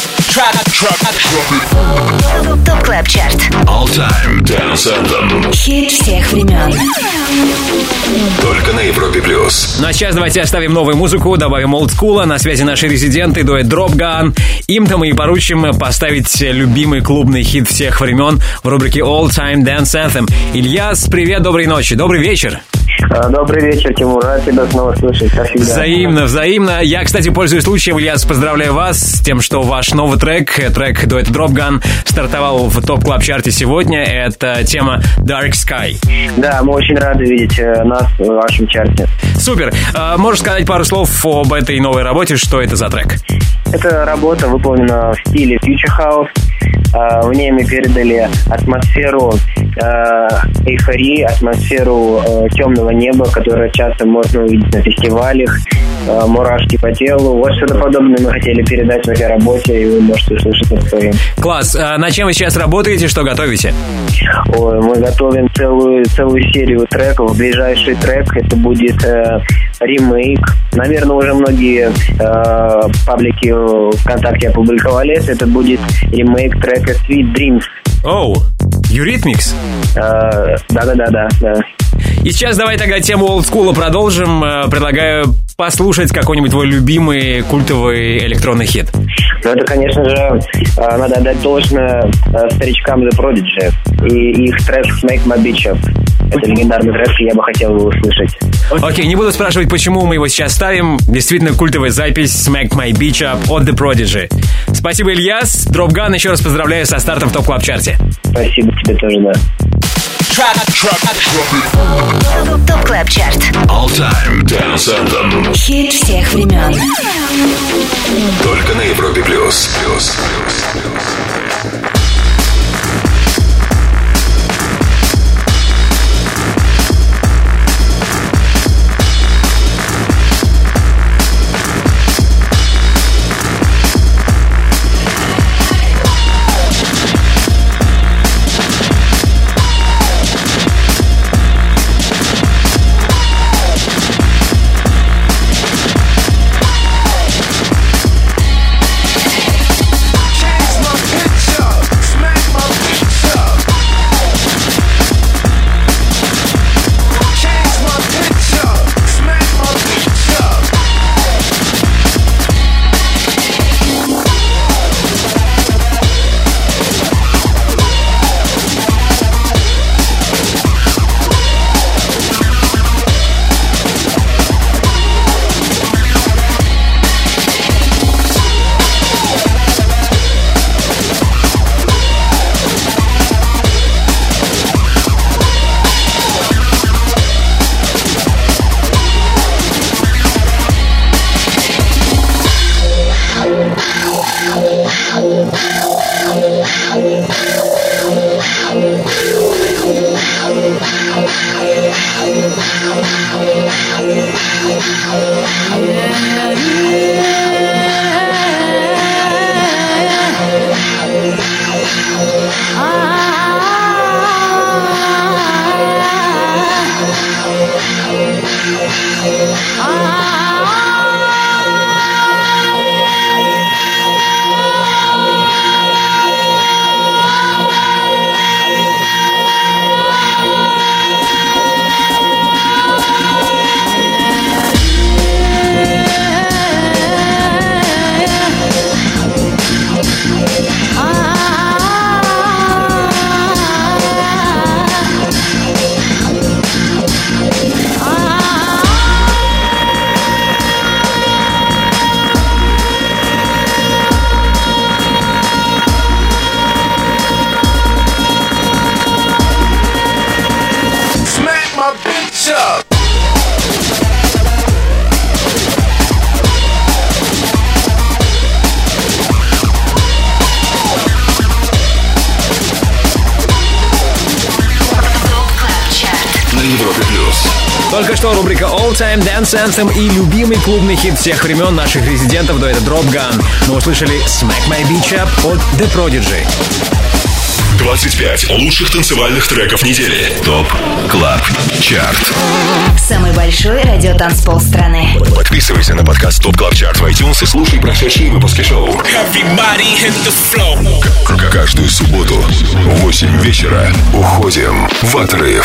Топ Клаб Чарт. All Time Dance Anthem. Хит всех времен. Только на Европе Плюс. Ну а сейчас давайте оставим новую музыку, добавим олдскула. На связи наши резиденты, дуэт Drop Gun. Им-то мы и поручим поставить любимый клубный хит всех времен в рубрике All Time Dance Anthem. Ильяс, привет, доброй ночи, добрый вечер. Добрый вечер, Тимур. Рад тебя снова слышать, как всегда. Взаимно, взаимно. Я, кстати, пользуюсь случаем, Ильяс, поздравляю вас с тем, что ваш новый трек, трек дуэта Drop Gun, стартовал в Топ Клаб Чарте сегодня. Это тема Dark Sky. Да, мы очень рады видеть нас в вашем чарте. Супер. Можешь сказать пару слов об этой новой работе? Что это за трек? Эта работа выполнена в стиле Future House. В ней мы передали атмосферу эйфории, атмосферу темного неба, которое часто можно увидеть на фестивалях, мурашки по телу. Вот что-то подобное мы хотели передать в этой работе, и вы можете услышать это своим. Класс. А над чем вы сейчас работаете, что готовите? Ой, мы готовим целую, целую серию треков. Ближайший трек это будет э, ремейк. Наверное, уже многие э, паблики ВКонтакте опубликовали это. Это будет ремейк трека Sweet Dreams. Оу, oh, Eurythmics? Э, Да-да-да-да. да. И сейчас давай тогда тему олдскула продолжим. Предлагаю послушать какой-нибудь твой любимый культовый электронный хит. Ну, это, конечно же, надо отдать должное старичкам The Prodigy и их трек Smack My Bitch Up. Это легендарный трек, и я бы хотел его услышать. Окей, не буду спрашивать, почему мы его сейчас ставим. Действительно культовая запись Smack My Bitch Up от The Prodigy. Спасибо, Ильяс. Drop Gun, еще раз поздравляю со стартом в Топ Клаб Чарте. Спасибо тебе тоже, да. Топ Клаб Чарт. All Time Dance Anthem. Хит всех времен. Только на Европе Плюс. Плюс. Yeah. Только что рубрика All Time Dance Anthem и любимый клубный хит всех времен наших резидентов дуэта Drop Gun. Мы услышали Smack My Beach Up от The Prodigy. двадцать пять лучших танцевальных треков недели. ТОП Клаб Чарт. Самый большой радиотанцпол страны. Подписывайся на подкаст ТОП Клаб Чарт в iTunes и слушай прошедшие выпуски шоу. К- Каждую субботу в восемь вечера уходим в отрыв.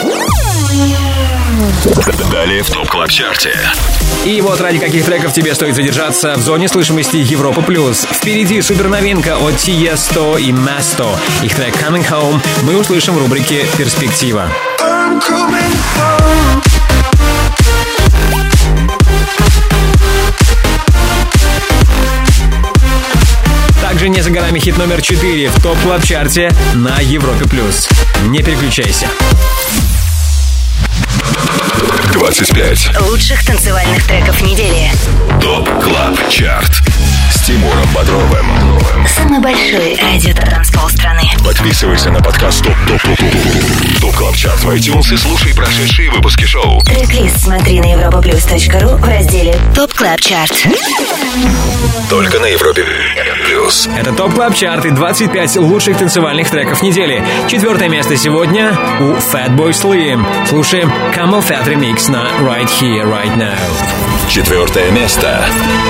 Далее в ТОП Клаб Чарте. И вот ради каких треков тебе стоит задержаться в зоне слышимости Европа Плюс. Впереди суперновинка от Tiesto и Masto. Их трек Coming Home мы услышим в рубрике «Перспектива». Также не за горами хит номер четыре в ТОП Клаб Чарте на Европе Плюс. Не переключайся. двадцать пять Лучших танцевальных треков недели. ТОП Клаб Чарт с Тимуром Бодровым. Самый большой радиотанцпол страны. Подписывайся на подкаст ТОП ТОП ТОП ТОП Клаб Чарт в iTunes и слушай прошедшие выпуски шоу. Трек-лист смотри на европаплюс точка ру в разделе ТОП Клаб Чарт. Только на Европе Плюс. Это ТОП Клаб Чарт и двадцать пять лучших танцевальных треков недели. Четвертое место сегодня у Fatboy Slim. Слушаем Camel Fat Remix на Right Here, Right Now. Четвертое место.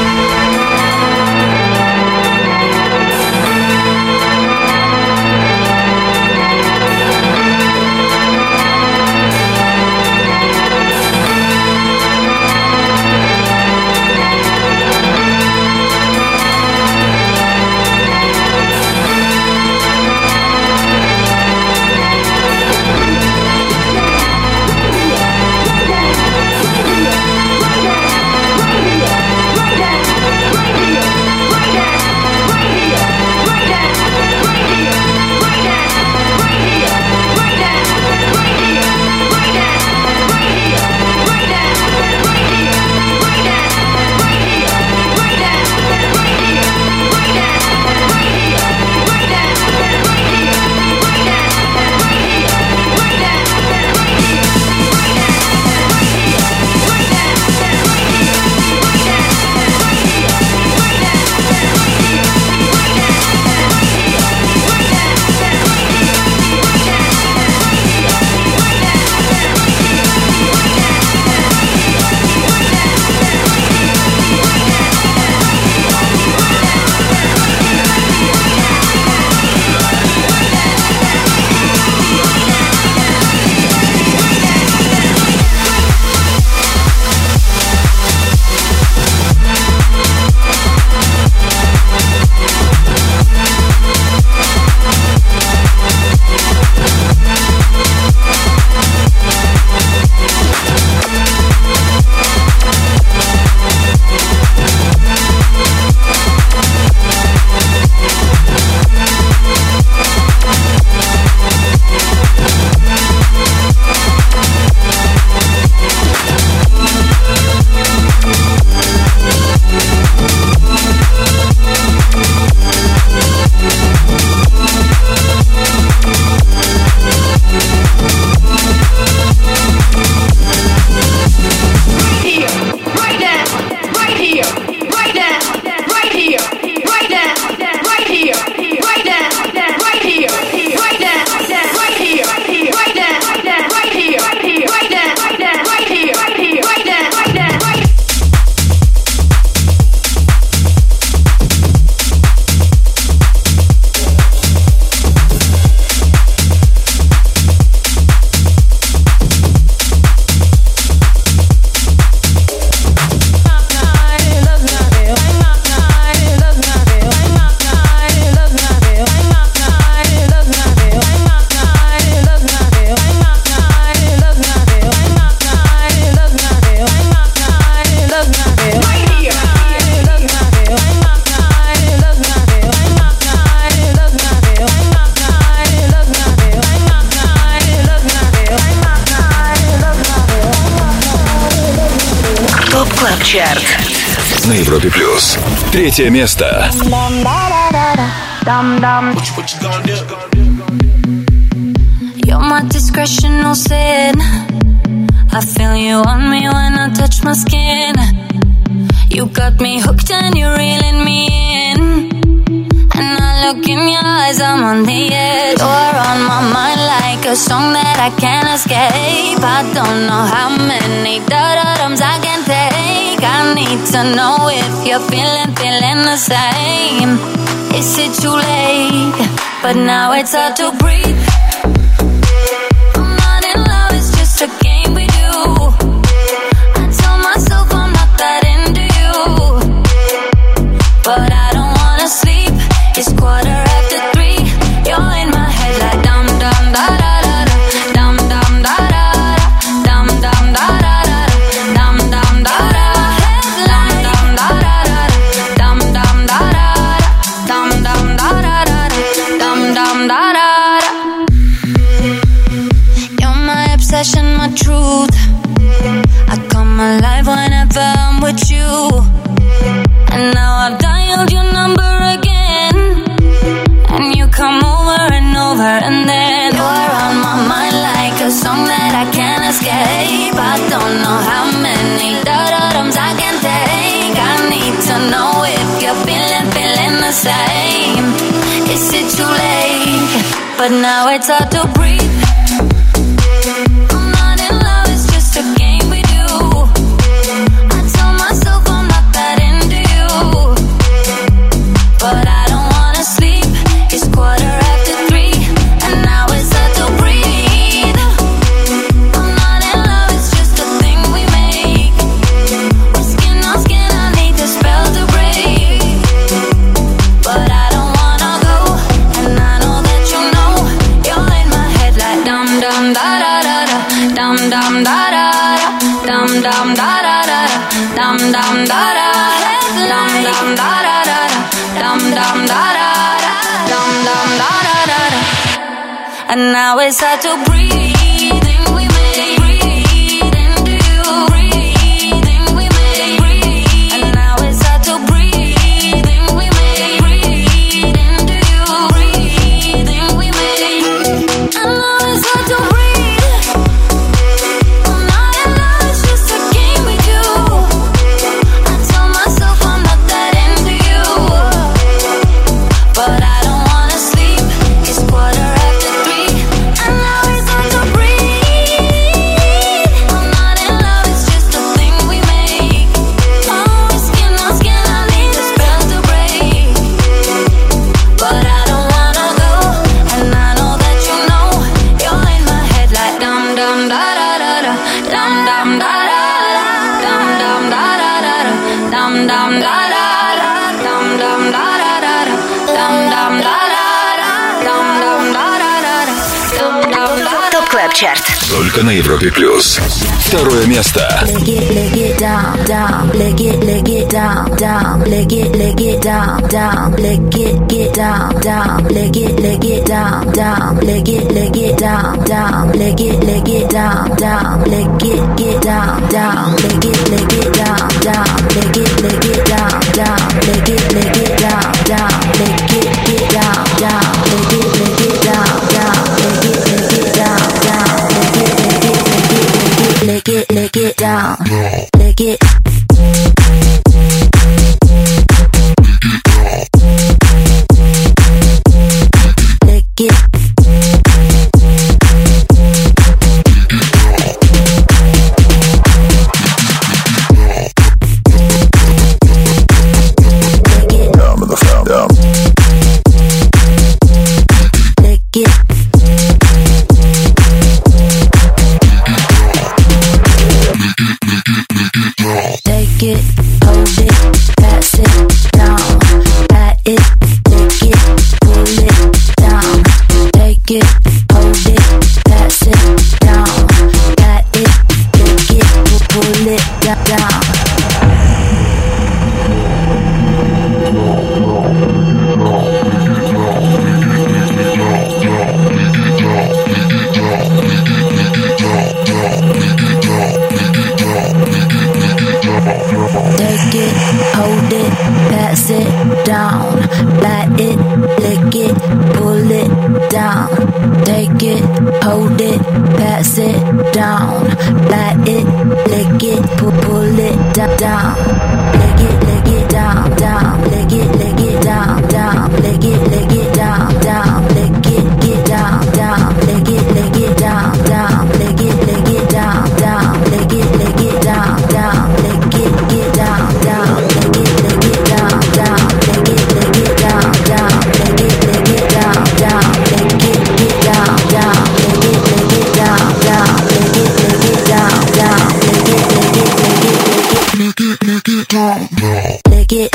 Чарт на Европе Плюс. Третье место. You're my discretional sin. I feel you on me when I touch my skin. You got me hooked and you're reeling me in. And I look in your eyes, I'm on the edge. You're on my mind like a song that I can't escape. I don't know how many da-da-dums I can take. I need to know if you're feeling, feeling the same. Is it too late? But now it's hard to breathe. I'm not in love, it's just a game we do. I tell myself I'm not that into you, but I don't wanna sleep. It's quarter after three. You're in my head like dum dum da da da da, dum dum da da da, dum dum da da da, dum dum da da, dum dum da da da, dum dum da da da, dum dum da da da, dum dum da da da. You're my obsession, my truth. I come alive whenever I'm with you. And now I've dialed your number again, and you come over and over, and then you're on my mind like a song that I can't escape. I don't know how many da-da-dums I can take. I need to know if you're feeling, feeling the same. Is it too late? But now it's hard to breathe. I'm not in love, it's just a game we do. I tell myself I'm not that into you, but I don't wanna sleep. It's quarter after three, and now it's hard to breathe. I'm not in love, it's just a thing we make. We're skin on skin, I need the spell to break, but I don't wanna go, and I know that you know. You're in my head like dum dum da da da da, dum dum da da da, dum dum da da da, dum dum da da, dum dum da da da, dum dum da da da, dum dum da da da. And now it's hard to breathe. We made breathe into you. Breathing we made breathe. And now it's hard to breathe. We made breathe into you. Breathing we made. And now it's hard to breathe. I'm not in love, it's just a game we do. I tell myself I'm not that into you, but I don't wanna sleep. It's quarter after three, and now it's hard to breathe. I'm not in love, it's just a thing we make. Oh, skin on skin, I need the spell to break, but I don't wanna go, and I know that you know. You're in my head like dum dum da da da da, dum dum da da da, dum dum da da da da, dum dum da da da, dum dum da da da da, dum dum da da da, dum dum da da da, dum dum da da. ТОП КЛАБ ЧАРТ. Только на Европе плюс. Второе место. Leg it, leg it down, down, leg it, leg it down, down, leg it, leg it down, down, leg it, get down, down, leg it, leg it down, down, leg it, leg it down, down, leg it, leg it down, down, leg it, get down, down, leg it, leg it down, down, leg it, leg it down, down, leg it, leg it down, down, leg it, get down, down, leg it, leg it down, down, leg it, leg it down, down, leg it, leg it, leg it, leg it, leg it down, leg it. Leg it. Take take it, hold it, pass it down, light it, lick it, pull, pull it down, down, lick it, lick it down, down, lick it, lick it down, down, lick it, lick it down, down, lick it, get down, down, lick it, lick it down, down, lick it, lick it down, down, lick it, lick it down, down, lick it, get down, down, lick it, lick it down, down, lick it, lick it down, down, lick it, lick it down, down, lick it, get down, down, lick it, lick it down, down, lick it, lick it down, down, lick it, lick it, lick it, lick it, lick it down, lick it.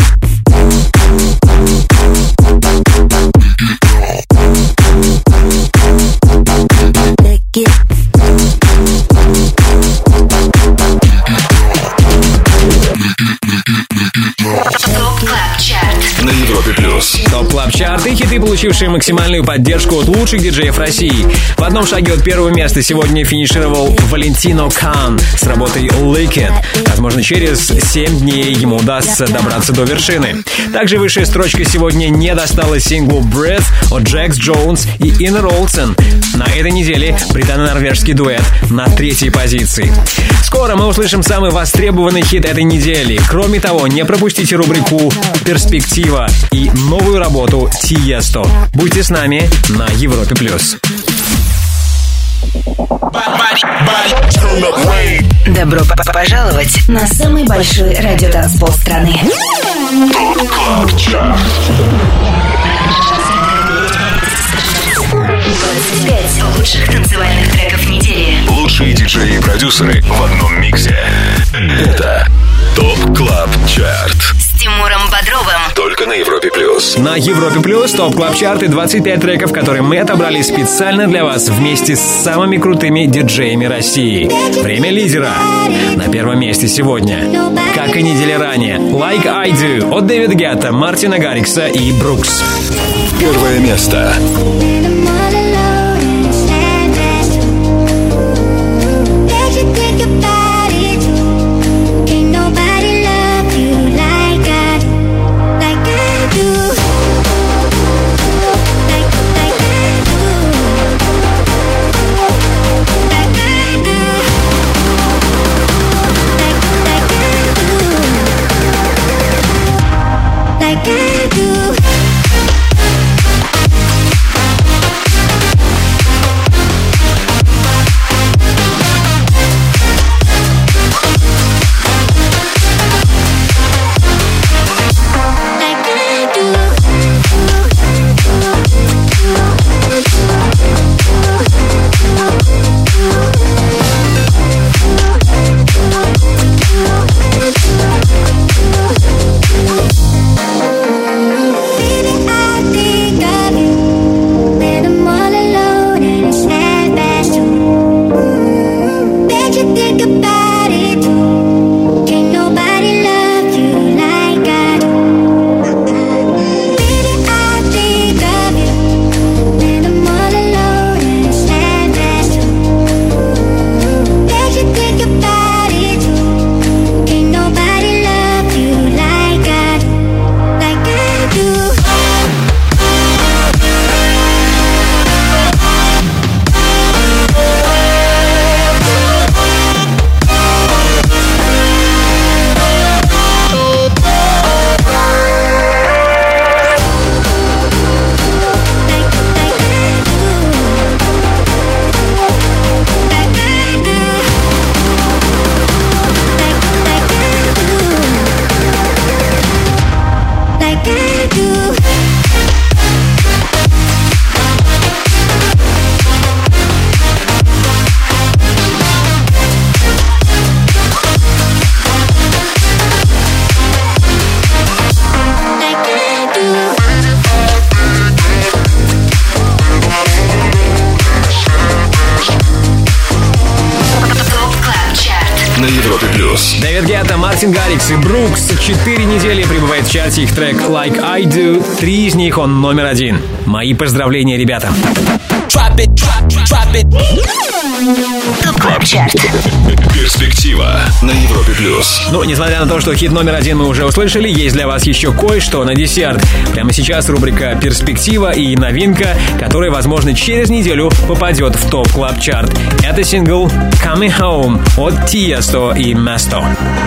На Европе Плюс. Топ Клаб Чарт и хиты, получившие максимальную поддержку от лучших диджеев России. В одном шаге от первого места сегодня финишировал Валентино Кан с работой Lick It. Возможно, через семь дней ему удастся добраться до вершины. Также высшая строчка сегодня не досталась синглу Breath от Джекс Джонс и Иннер Олсен. На этой неделе британо-норвежский дуэт на третьей позиции. Скоро мы услышим самый востребованный хит этой недели. Кроме того, не пропустите рубрику «Перспектива» и новую работу Тиесто. Будьте с нами на Европе+. плюс. Добро п- пожаловать на самый большой радиотанцпол страны. двадцать пять лучших танцевальных треков недели. Лучшие диджеи и продюсеры в одном миксе. Это ТОП Клаб Чарт. С Тимуром Бодровым. Только на Европе Плюс. На Европе Плюс Топ Клаб Чарт и двадцать пять треков, которые мы отобрали специально для вас вместе с самыми крутыми диджеями России. Время лидера. На первом месте сегодня, как и недели ранее, Like I Do от Дэвида Гетта, Мартина Гаррикса и Брукс. Первое место. На Европе Плюс. Дэвид Гетта, Мартин Гаррикс и Брукс. Четыре недели пребывает в чарте их трек Like I Do. Три из них он номер один. Мои поздравления, ребята. drop it, drop, drop it. ТОП Клаб Чарт. Перспектива на Европе плюс. Ну, несмотря на то, что хит номер один мы уже услышали, есть для вас еще кое-что на десерт. Прямо сейчас рубрика «Перспектива» и новинка, которая, возможно, через неделю попадет в ТОП Клаб Чарт. Это сингл «Coming Home» от Tiesto и Mesto.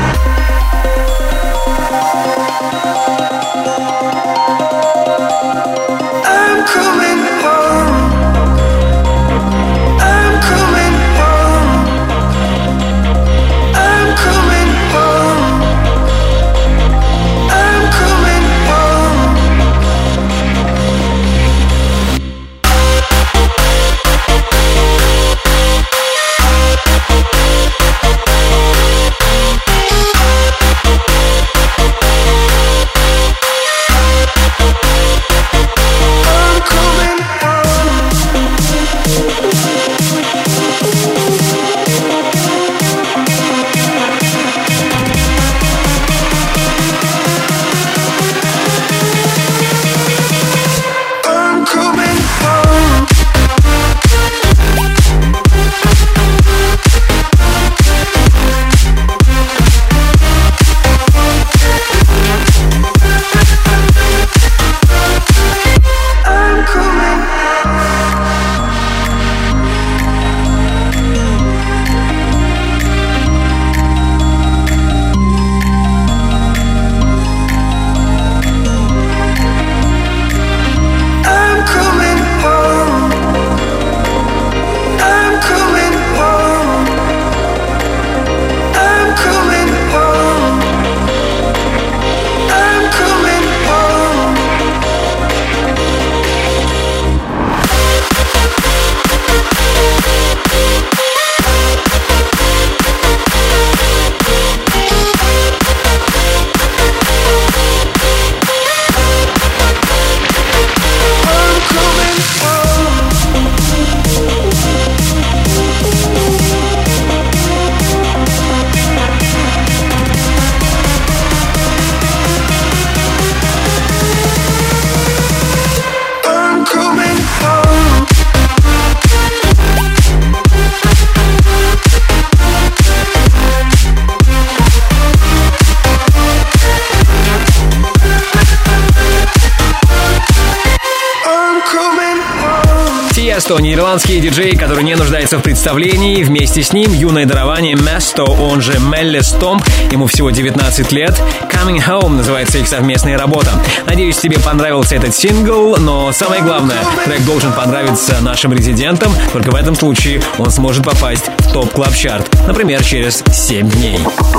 Тиесто, нидерландский диджей, который не нуждается в представлении. Вместе с ним юное дарование Mesto, он же Мелли Стомп. Ему всего девятнадцать лет. Coming Home называется их совместная работа. Надеюсь, тебе понравился этот сингл, но самое главное, трек должен понравиться нашим резидентам. Только в этом случае он сможет попасть в ТОП Клаб Чарт. Например, через семь дней.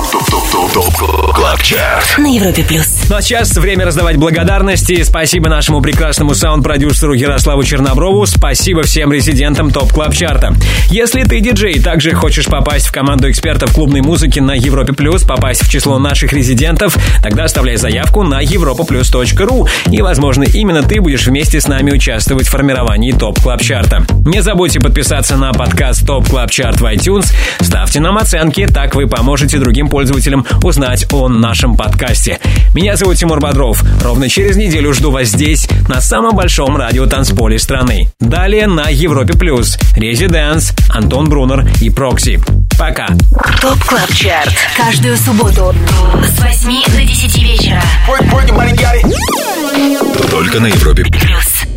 ТОП Клаб Чарт на Европе плюс. Ну а сейчас время раздавать благодарности. Спасибо нашему прекрасному саунд-продюсеру Ярославу Черноброву. Спасибо всем резидентам ТОП Клаб Чарта. Если ты диджей и также хочешь попасть в команду экспертов клубной музыки на Европе плюс, попасть в число наших резидентов, тогда оставляй заявку на европа плюс точка ру. И, возможно, именно ты будешь вместе с нами участвовать в формировании ТОП Клаб Чарта. Не забудьте подписаться на подкаст ТОП Клаб Чарт в iTunes. Ставьте нам оценки, так вы поможете другим пользователям узнать о нашем подкасте. Меня зовут Тимур Бодров. Ровно через неделю жду вас здесь, на самом большом радиотанцполе страны. Далее на Европе плюс Резиденс, Антон Брунер и Прокси. Пока. ТОП Клаб Чарт. Каждую субботу с восьми до десяти вечера. Только на Европе плюс.